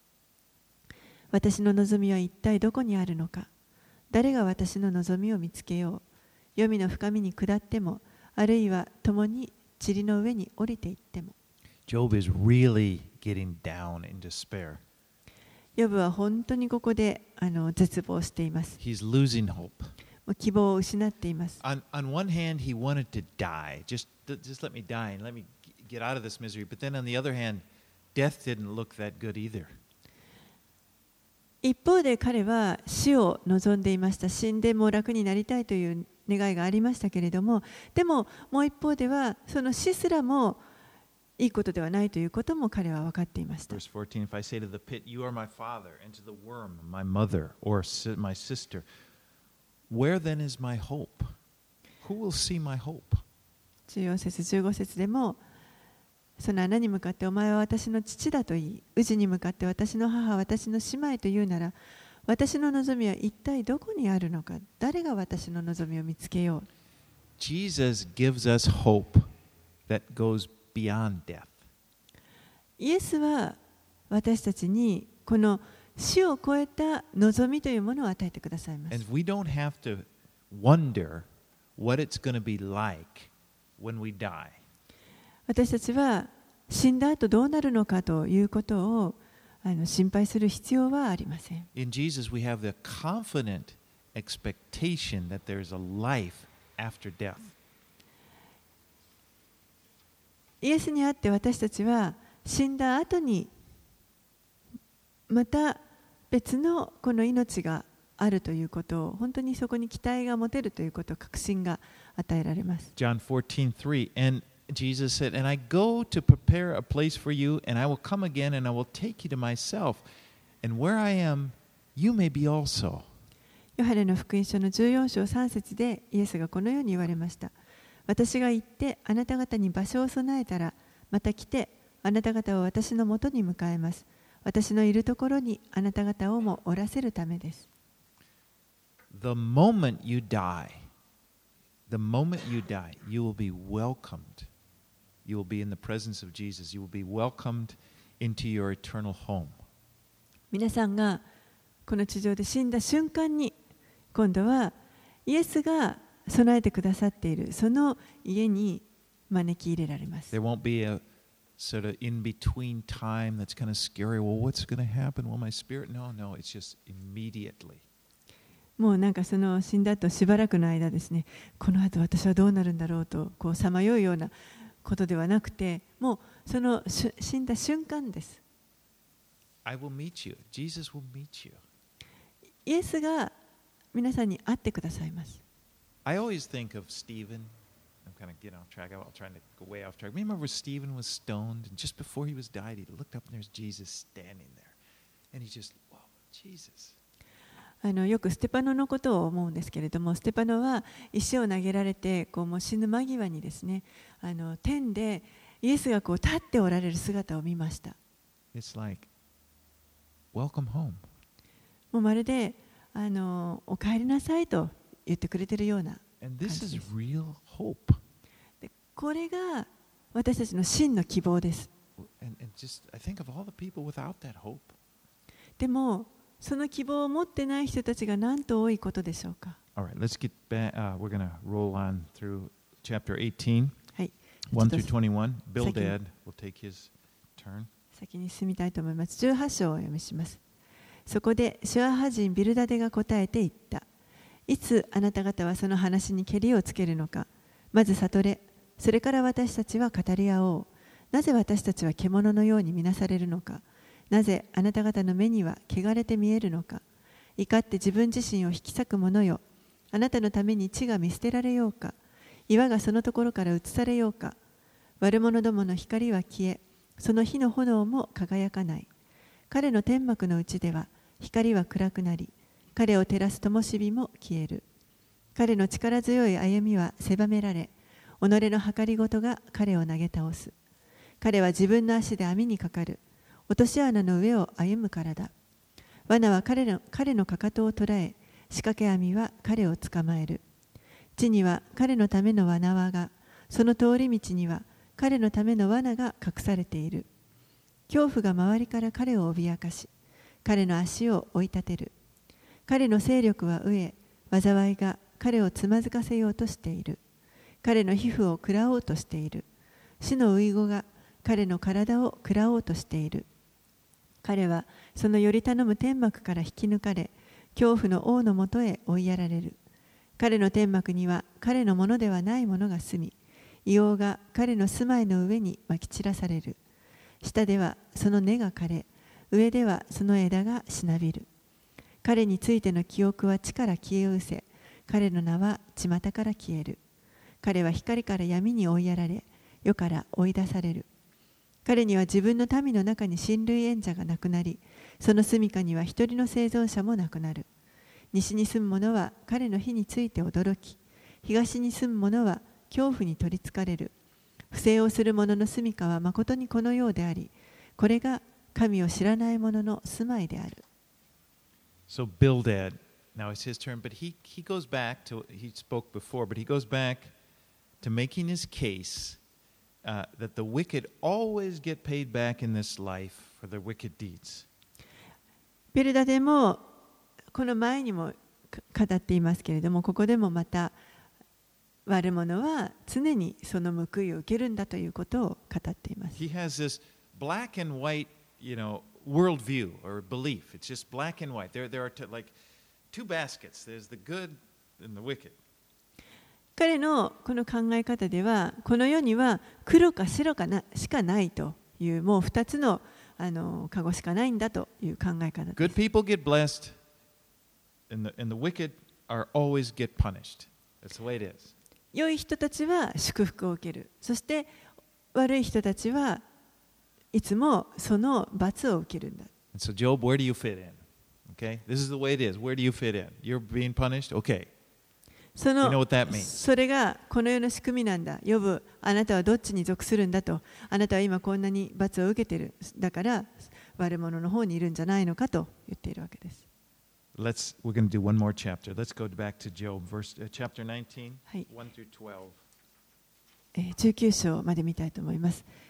私の望みは一体どこにあるのか。誰が私の望みを見つけよう。黄泉の深みに下っても、あるいは共に塵の上に降りていっても。 Job is really getting down in despair. ヨブは本当にここで絶望しています。 He's losing hope. もう希望を失っています。 On one hand, he wanted to die. Just let me die and let me get out of this misery. But then on the other hand, death didn't look that good either. 一方で彼は死を望んでいました。死んでも楽になりたいという願いがありましたけれども、でももう一方ではその死すらもいいことではないということも彼は分かっていました。 Verse 14, if I say to the pit, you are my father, and to the worm, my mother, or my sister, where then is my hope? Who will see my hope? 14節15節でも、その穴に向かってお前は私の父だと言い、宇に向かって私の母、私の姉妹と言うなら、私の望みは一体どこにあるのか。誰が私の望みを見つけよう。 Jesus gives us hope that goes beyond death. イエスは私たちにこの死を超えた望みというものを与えてくださいます。 And we don't have to wonder what it's going to be like when we die. 私たちは死んだ後どうなるのかということを心配する必要はありません。 In Jesus, we have the confident expectation that there is a life after death. イエスにあって私たちは死んだ後にまた別のこの命があるということを、本当にそこに期待が持てるということを、確信が与えられます。 John 14:3 And Jesus said, And I go to prepare a place for you, and I will come again, and I will take you to myself, and where I am, you may be also. ヨハネの福音書の14章3節でイエスがこのように言われました。私が行ってあなた方に場所を備えたら、また来てあなた方を私のもとに迎えます。私のいるところにあなた方をもおらせるためです。 The moment you die, you will be welcomed. You will be in the presence of Jesus. You will be welcomed into your eternal home. 皆さんがこの地上で死んだ瞬間に、今度はイエスが備えてくださっているその家に招き入れられます。 There won't be a sort of in-between time that's kind of scary. Well, what's going to happen? Will my spirit? No, it's just immediately. もうなんかその死んだ後しばらくの間ですね、この後私はどうなるんだろうとこうさまようようなことではなくて、もうその死んだ瞬間です。 I will meet you. Jesus will meet you. イエスが皆さんに会ってくださいます。 I always think of Stephen. I'm kind of getting off track. I'm trying to go way off track. Remember Stephen was stoned, and just before he was died, he looked up and there's Jesus standing there. And he just, wow, Jesus. よくステパノのことを思うんですけれども、ステパノは石を投げられてこうもう死ぬ間際にですね、天でイエスがこう立っておられる姿を見ました。 It's like, welcome home. もうまるでお帰りなさいと言ってくれているような感 And じ this で is す。 real hope. でこれが私たちの真の希望です。 And just, I think of all the people without that hope. でもその希望を持ってない人たちがなんと多いことでしょうか。 All right, let's get back. We're going to roll on through chapter 18, はい、 1 ちょっ through と 21. Bildad Second. will take his turn. 先に進みたいと思います。18章をお読みします。そこでシュアハ人ビルダデが答えて言った。いつあなた方はその話にけりをつけるのか。まず悟れ。それから私たちは語り合おう。なぜ私たちは獣のように見なされるのか。なぜあなた方の目には汚れて見えるのか。怒って自分自身を引き裂く者よ。あなたのために地が見捨てられようか。岩がそのところから移されようか。悪者どもの光は消え、その火の炎も輝かない。彼の天幕のうちでは光は暗くなり、彼を照らす灯火も消える。彼の力強い歩みは狭められ、己の計りごとが彼を投げ倒す。彼は自分の足で網にかかる。落とし穴の上を歩むからだ。罠は彼のかかとを捉え、仕掛け網は彼を捕まえる。地には彼のための罠輪が、その通り道には彼のための罠が隠されている。恐怖が周りから彼を脅かし、彼の足を追い立てる。彼の勢力は飢え、災いが彼をつまずかせようとしている。彼の皮膚を食らおうとしている。死の遺語が彼の体を食らおうとしている。彼はそのより頼む天幕から引き抜かれ、恐怖の王のもとへ追いやられる。彼の天幕には彼のものではないものが住み、硫黄が彼の住まいの上にまき散らされる。下ではその根が枯れ、上ではその枝がしなびる。彼についての記憶は地から消え失せ、彼の名は巷から消える。彼は光から闇に追いやられ、世から追い出される。彼には自分の民の中に親類縁者がなくなり、その住処には一人の生存者もなくなる。西に住む者は彼の火について驚き、東に住む者は恐怖に取りつかれる。不正をする者の住処はまことにこのようであり、これが神を知らない者の住まいである。 So Bildad, now it's his turn, but he goes back to, he spoke before, but he goes back to making his case that the wicked always get paid back in this life for their wicked deeds. ビルダでもこの前にも語っていますけれども、ここでもまた悪者は常にその報いを受けるんだということを語っています。 He has this black and white, worldview or belief. It's just black and white. There are like two baskets. There's the good and the wicked. 彼のこの考え方では、この世には黒か白かしかないという、もう2つのカゴしかないんだという考え方です。 Good people get blessed, and the wicked are always get punished. That's the way it is. 良い人たちは祝福を受ける。そして悪い人たちはいつもその罰を受けるんだ。 And so, Job, where do you fit in? Okay, this is the way it is. Where do you fit in? You're being punished? Okay. そ You know what that means? それがこの世の仕組みなんだ。ヨブ、あなたはどっちに属するんだと。あなたは今こんなに罰を受けている。だから悪者の方にいるんじゃないのかと言っているわけです。 We're going to do one more chapter. Let's go back to Job, chapter 19, はい。 1 through 12. 19章まで見たいと思います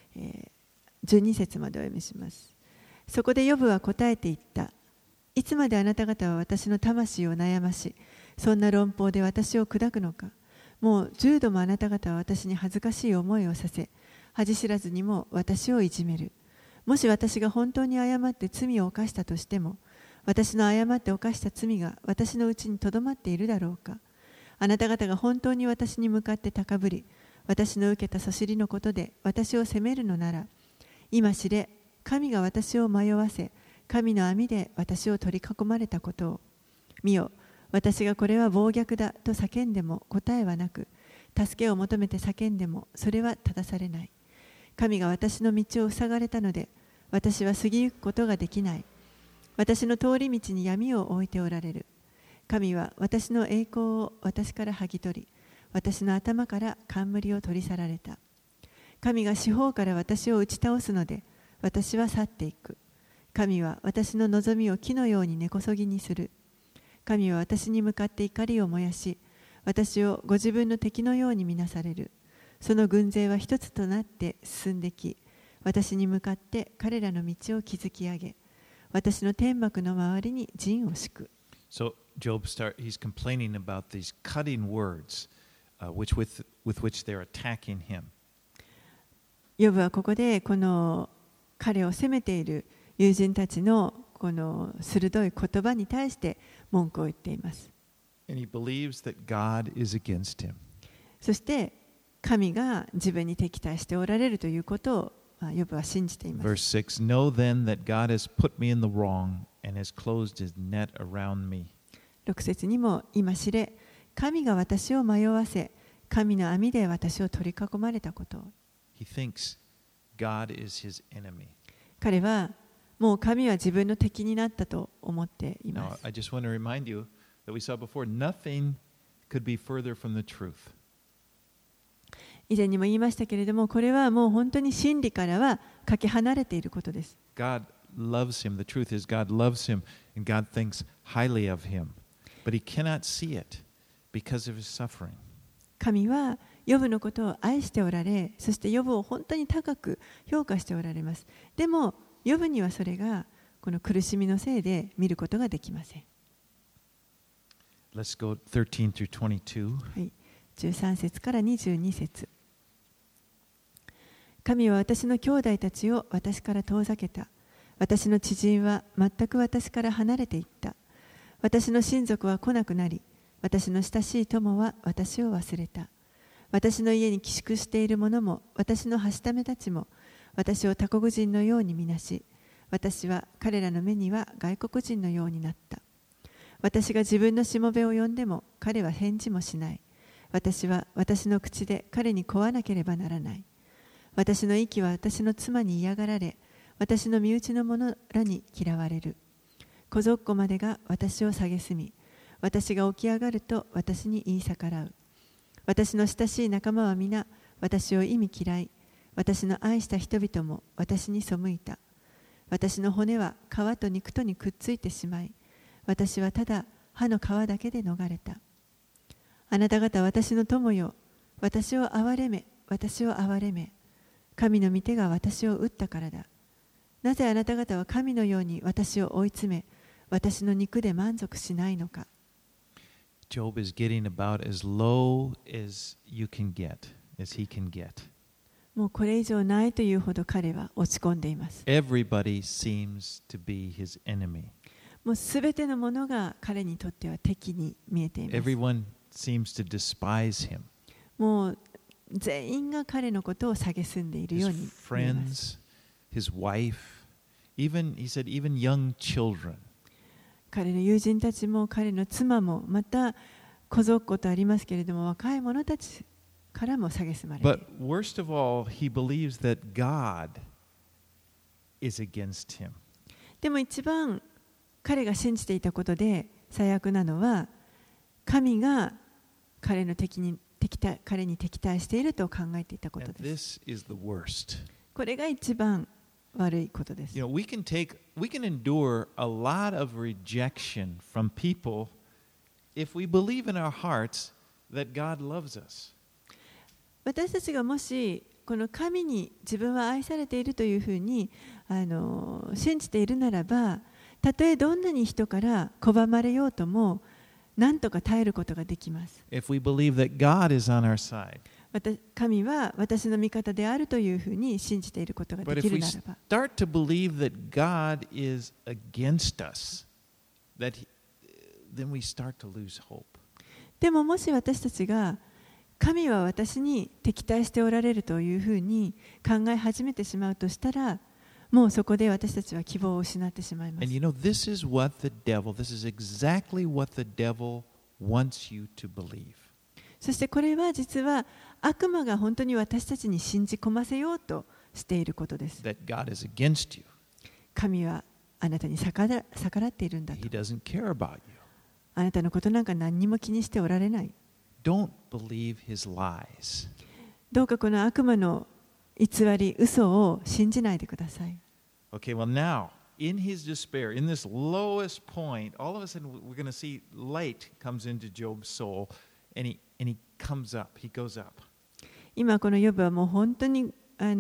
。12節までお読みします。そこでヨブは答えて言った。いつまであなた方は私の魂を悩まし、そんな論法で私を砕くのか。もう10度もあなた方は私に恥ずかしい思いをさせ、恥知らずにも私をいじめる。もし私が本当に誤って罪を犯したとしても、私の誤って犯した罪が私のうちにとどまっているだろうか。あなた方が本当に私に向かって高ぶり、私の受けたそしりのことで私を責めるのなら、今知れ、神が私を迷わせ、神の網で私を取り囲まれたことを。見よ、私がこれは暴虐だと叫んでも答えはなく、助けを求めて叫んでもそれは正されない。神が私の道を塞がれたので、私は過ぎゆくことができない。私の通り道に闇を置いておられる。神は私の栄光を私から剥ぎ取り、私の頭から冠を取り去られた。神が四方から私を打ち倒すので、私は去っていく。神は私の望みを木のように根こそぎにする。神は私に向かって怒りを燃やし、私をご自分の敵のように見なされる。その軍勢は一つとなって進んでき、私に向かって彼らの道を築き上げ、私の天幕の周りに陣を敷く。 So he's complaining about these cutting words with which they're attacking him. ヨブはここでこの彼を責めている友人たちのこの鋭い言葉に対して文句を言っています。 And he believes that God is against him. そして神が自分に敵対しておられるということをヨブは信じています。 Verse 6, Know then that God has put me in the wrong and has closed his net around me. 6節にも今知れ、神が私を迷わせ、神の網で私を取り囲まれたことを。 He thinks God is his enemy. 彼はもう神は自分の敵になったと思っていま Now, す。 I just want to remind you that we saw before, nothing could be further from the truth. 以前にも言いましたけれども、これはもう本当に真理からはかけ離れていることです。 God loves him. The truth is God loves him and God thinks highly of him. But he cannot see it because of his suffering. 神はヨブのことを愛しておられ、そしてヨブを本当に高く評価しておられます。でも、ヨブにはそれがこの苦しみのせいで見ることができません。 Let's go 13 through 22. はい、13節から22節。神は私の兄弟たちを私から遠ざけた。私の知人は全く私から離れていった。私の親族は来なくなり、私の親しい友は私を忘れた。私の家に寄宿している者も、私のはしためたちも、私を他国人のように見なし、私は彼らの目には外国人のようになった。私が自分のしもべを呼んでも、彼は返事もしない。私は私の口で彼に請わなければならない。私の息は私の妻に嫌がられ、私の身内の者らに嫌われる。小ぞっこまでが私を蔑み、私が起き上がると私に言い逆らう。私の親しい仲間は皆私を忌み嫌い、私の愛した人々も私に背いた。私の骨は皮と肉とにくっついてしまい、私はただ歯の皮だけで逃れた。あなた方私の友よ、私を憐れめ、私を憐れめ。神の御手が私を打ったからだ。なぜあなた方は神のように私を追い詰め、私の肉で満足しないのか。 Job is getting about as low as you can get, as he can get. もうこれ以上ないというほど彼は落ち込んでいます。 Everybody seems to be his enemy. もうすべてのものが彼にとっては敵に見えています。 Everyone seems to despise him. もう全員が彼のことを蔑んでいるよう His に見えます。 friends, his wife, even, he said, even young children. 彼の友人たちも彼の妻もまたこぞっことありますけれども、若い者たちからも蔑まれている。 But worst of all, he believes that God is against him. でも一番彼が信じていたことで最悪なのは、神が彼に敵対していると考えていたこと And です。 this is the worst. これが一番悪いことです。 You know, we can endure a lot of rejection from people if we believe in our hearts that God loves us. 私たちがもしこの神に自分は愛されているというふうに信じているならば、たとえどんなに人から拒まれようとも何とか耐えることができます。 If we believe that God is on our side. 神は私の味方であるというふうに信じていることが But でき if る we ならば、 start to believe that God is against us, then we start to lose hope. でももし私たちが神は私に敵対しておられるというふうに考え始めてしまうとしたら、もうそこで私たちは希望を失ってしまいます。 And you know, this is exactly what the devil wants you to believe. そしてこれは実は悪魔が本当に私たちに信じ込ませようとしていることです。 That God is against you. 神はあなたに逆らっているんだと。 He doesn't care about you. あなたのことなんか何にも気にしておられない。 Don't believe his lies. どうかこの悪魔の偽り、嘘を信じないでください。 Okay, well now, in his despair, in this lowest point, all of a sudden we're going to see light comes into Job's soul, and he comes up, he goes up. 今このヨブはもう本当に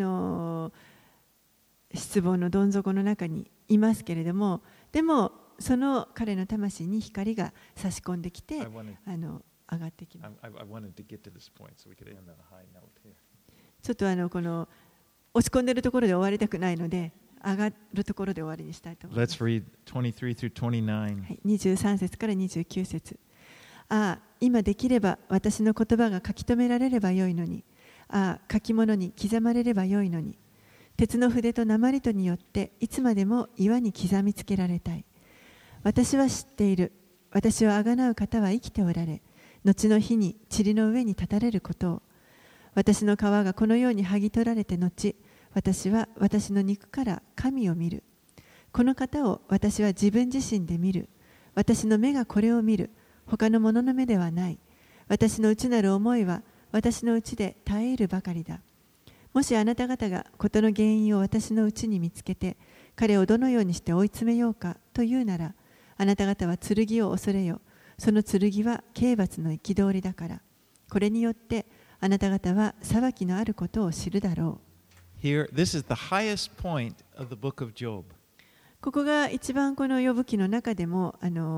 失望のどん底の中にいますけれども、でもその彼の魂に光が差し込んできて I wanted 上がってきます。 I wanted to get to this point so we could end on a high note here. ちょっとこの落ち込んでいるところで終わりたくないので、上がるところで終わりにしたいと思います。 Let's read 23 through 29. はい、23節から29節。ああ、今できれば私の言葉が書き留められればよいのに。ああ、書き物に刻まれればよいのに。鉄の筆と鉛とによっていつまでも岩に刻みつけられたい。私は知っている。私をあがなう方は生きておられ、後の日に塵の上に立たれることを。私の皮がこのように剥ぎ取られて後、私は私の肉から神を見る。この方を私は自分自身で見る。私の目がこれを見る。他の者の目ではない。私の内なる思いは私の内で耐えるばかりだ。もしあなた方が事の原因を私の内に見つけて、彼をどのようにして追い詰めようかというなら、あなた方は剣を恐れよ。その剣は刑罰の憤りだから。これによってあなた方は裁きのあることを知るだろう。 Here, this is the highest point of the book of Job. ここが一番このヨブ記の中でも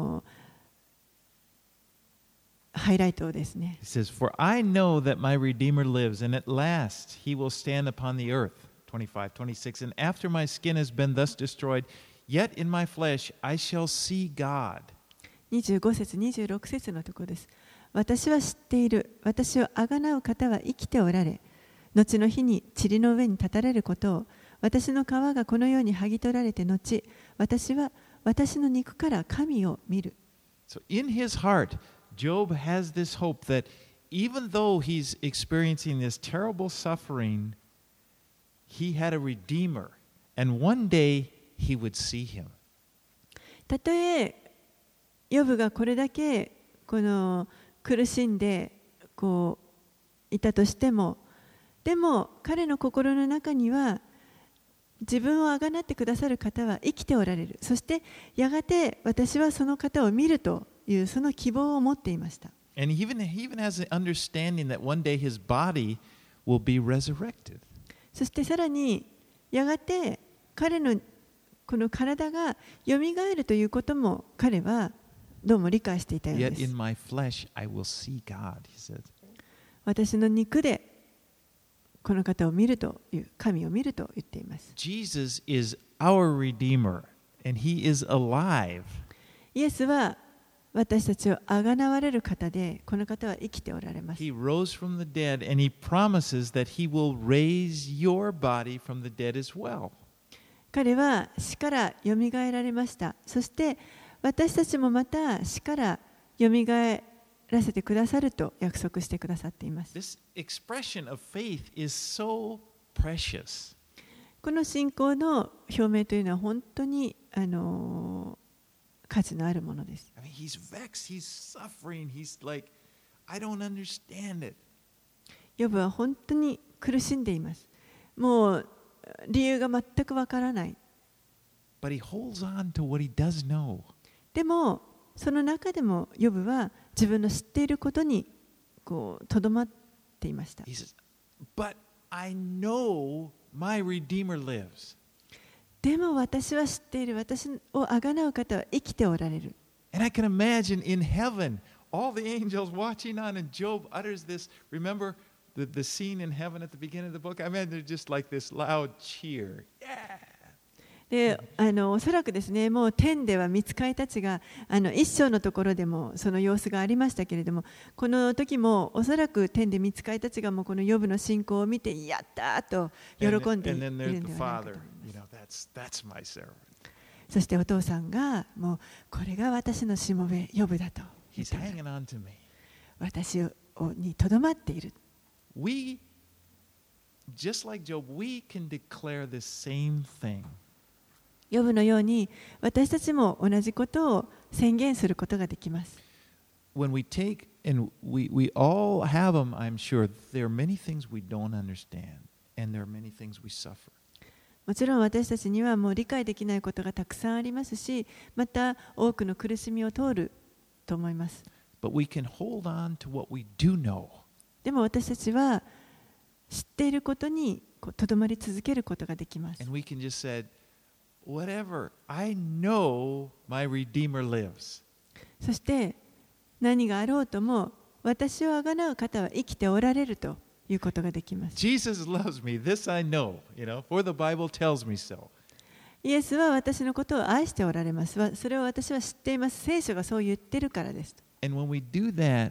ハイライトですね。 He says, For I know that my Redeemer lives, and at last he will stand upon the earth. 25, 26. And after my skin has been thus destroyed, yet in my flesh I shall see God. 25節、26節のところです。私は知っている。私をあがなう方は生きておられ、後の日に塵の上に立たれることを。私の皮がこのように剥ぎ取られて後、私は私の肉から神を見る。 So in his heart, Job has this hope that even though he's experiencing this terrible suffering, he had a Redeemer, and one day he would see him. たとえヨブがこれだけこの苦しんでいたとしても、でも彼の心の中には自分をあがなってくださる方は生きておられる。そしてやがて私はその方を見るというその希望を持っていました。 And he even has an understanding that one day his body will be resurrected. そしてさらにやがて彼のこの体がよみがえるということも彼はどうも理解していたようで Yet す。 in my flesh I will see God, he says. 私の肉でこの方を見るという、神を見ると言っています。 Jesus is our Redeemer, and he is alive. イエスは私たちをあがなわれる方で、この方は生きておられます。 He rose from the dead, and He promises that He will raise your body from the dead as well. 彼は死からよみがえられました。そして私たちもまた死からよみがえらせてくださると約束してくださっています。 This expression of faith is so precious. この信仰の表明というのは本当に価値のあるものです。 I mean, he's vexed, he's suffering, he's like, I don't understand it. ヨブは本当に苦しんでいます。もう理由が全くわからない。 But he holds on to what he does know. でもその中でもヨブは自分の知っていることにとどまっていました。 He says, But I know my Redeemer lives. でも私は知っている。私をあがなう方は生きておられる。 And I can imagine in heaven, all the angels watching on, and Job utters this. Remember the scene in heaven at the beginning of the book? I mean, they're just like this loud cheer. Yeah! でおそらくですね、もう天では御使いたちが一章のところでもその様子がありましたけれども、この時もおそらく天で御使いたちがもうこのヨブの信仰を見てやったと喜んでいるんではないかと思います。そしてお父さんがもうこれが私のしもべヨブだと言ったから、私にとどまっている。 We, just like Job, we can declare the same thing. ヨブのように私たちも同じことを宣言することができます。 When we take, and we all have them, I'm sure, there are many things we don't understand, and there are many things we suffer. もちろん私たちにはもう理解できないことがたくさんありますし、また多くの苦しみを通ると思います。 But we can hold on to what we do know. でも私たちは知っていることにとどまり続けることができます。 And we can just say, whatever, I know my Redeemer lives. そして何があろうとも私をあがなう方は生きておられるということができます。 Jesus loves me, this I know, for the Bible tells me so. イエスは私のことを愛しておられます。それを私は知っています。聖書がそう言ってるからです。 And when we do that,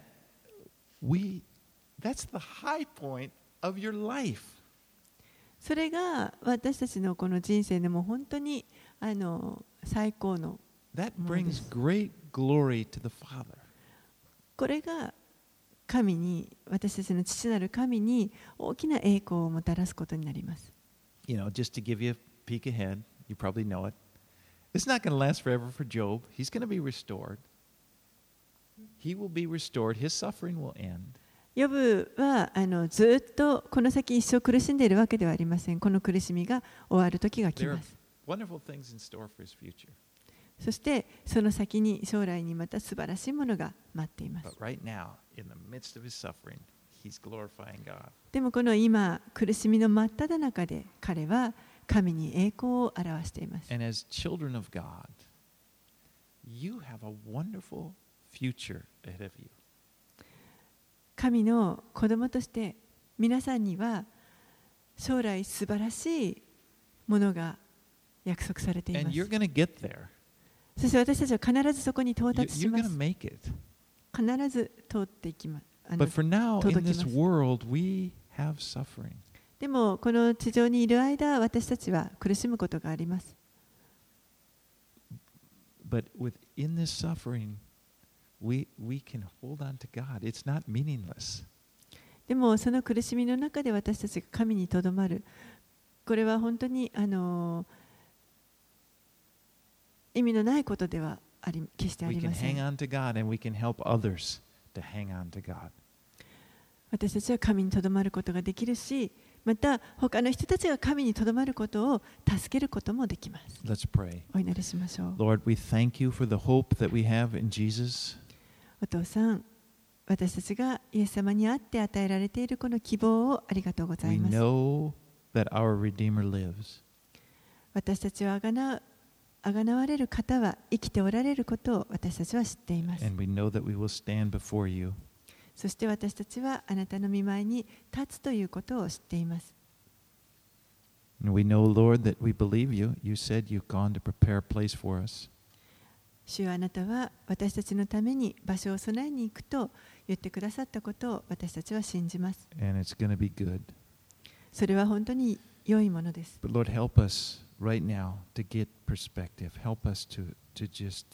that's the high point of your life. それが私たちのこの人生でも本当に最高の。 That brings great glory to the Father. これが神に、私たちの父なる神に大きな栄光をもたらすことになります。 Just to give you a peek ahead, you probably know it. It's not going to last forever for Job. He's going to be restored. He will be restored. His suffering will end. ヨブはずっとこの先一生苦しんでいるわけではありません。この苦しみが終わる時が来ます。 Wonderful things in store for his future. そしてその先に将来にまた素晴らしいものが待っています。 But right now, in the midst of his suffering, he's glorifying God. でもこの今苦しみの真っ只中で彼は神に栄光を表しています。 And as children of God, you have a wonderful future ahead of you. 神の子供として皆さんには将来素晴らしいものが約束されています。 And you're going to get there. そして私たちは必ずそこに到達しま You're す。 going to make it. 必ず通っていきます。 But for now, in 届き this ます。 world, we have suffering. でもこの地上にいる間、私たちは苦しむことがあります。 But within this suffering, we can hold on to God. It's not meaningless. でもその苦しみの中で私たちが神にとどまる。これは本当に意味のないことでは決してあ We り can ませ hang ん。 on to God, and we can help others to hang on to God. 私たちは神にとどまることができるし、また他の人たちが神にとどまることを助けることもできます。 Let's pray. お祈りしましょう。 Lord, we thank you for the hope that we have in Jesus. お父さん、私たちがイエス様にあって与えられているこの希望をありがとうござ We います。 know that our Redeemer lives. 私たちをあがなわれる方は生きておられることを私たちは知っています。 And we know that we will stand before you. そして私たちはあなたの御前に立つということを知っています。 And we know, Lord, that we believe you. You said you've gone to prepare a place for us. 主はあなたは私たちのために場所を備えに行くと言ってくださったことを私たちは信じます。 And it's going to be good. それは本当に良いものです。 But Lord, help us right now to get perspective. Help us to just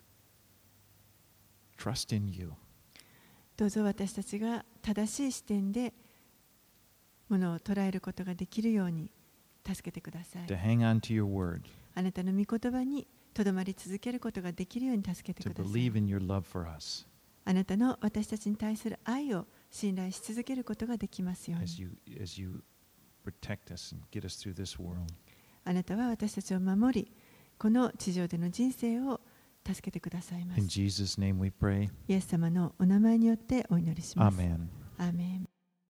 trust in you. どうぞ私たちが正しい視点でものを捉えることができるように助けてください。 To hang on to your word. あなたの御言葉にとどまり続けることができるように助けて To ください。 believe in your love for us あなたの私たちに対する愛を信頼し続けることができますように。 as you protect us and get us through this world. あなたは私たちを守り、この地上での人生を助けてくださいま In す。 Jesus' name we pray. イエス様のお名前によってお祈りします。 Amen. アーメン。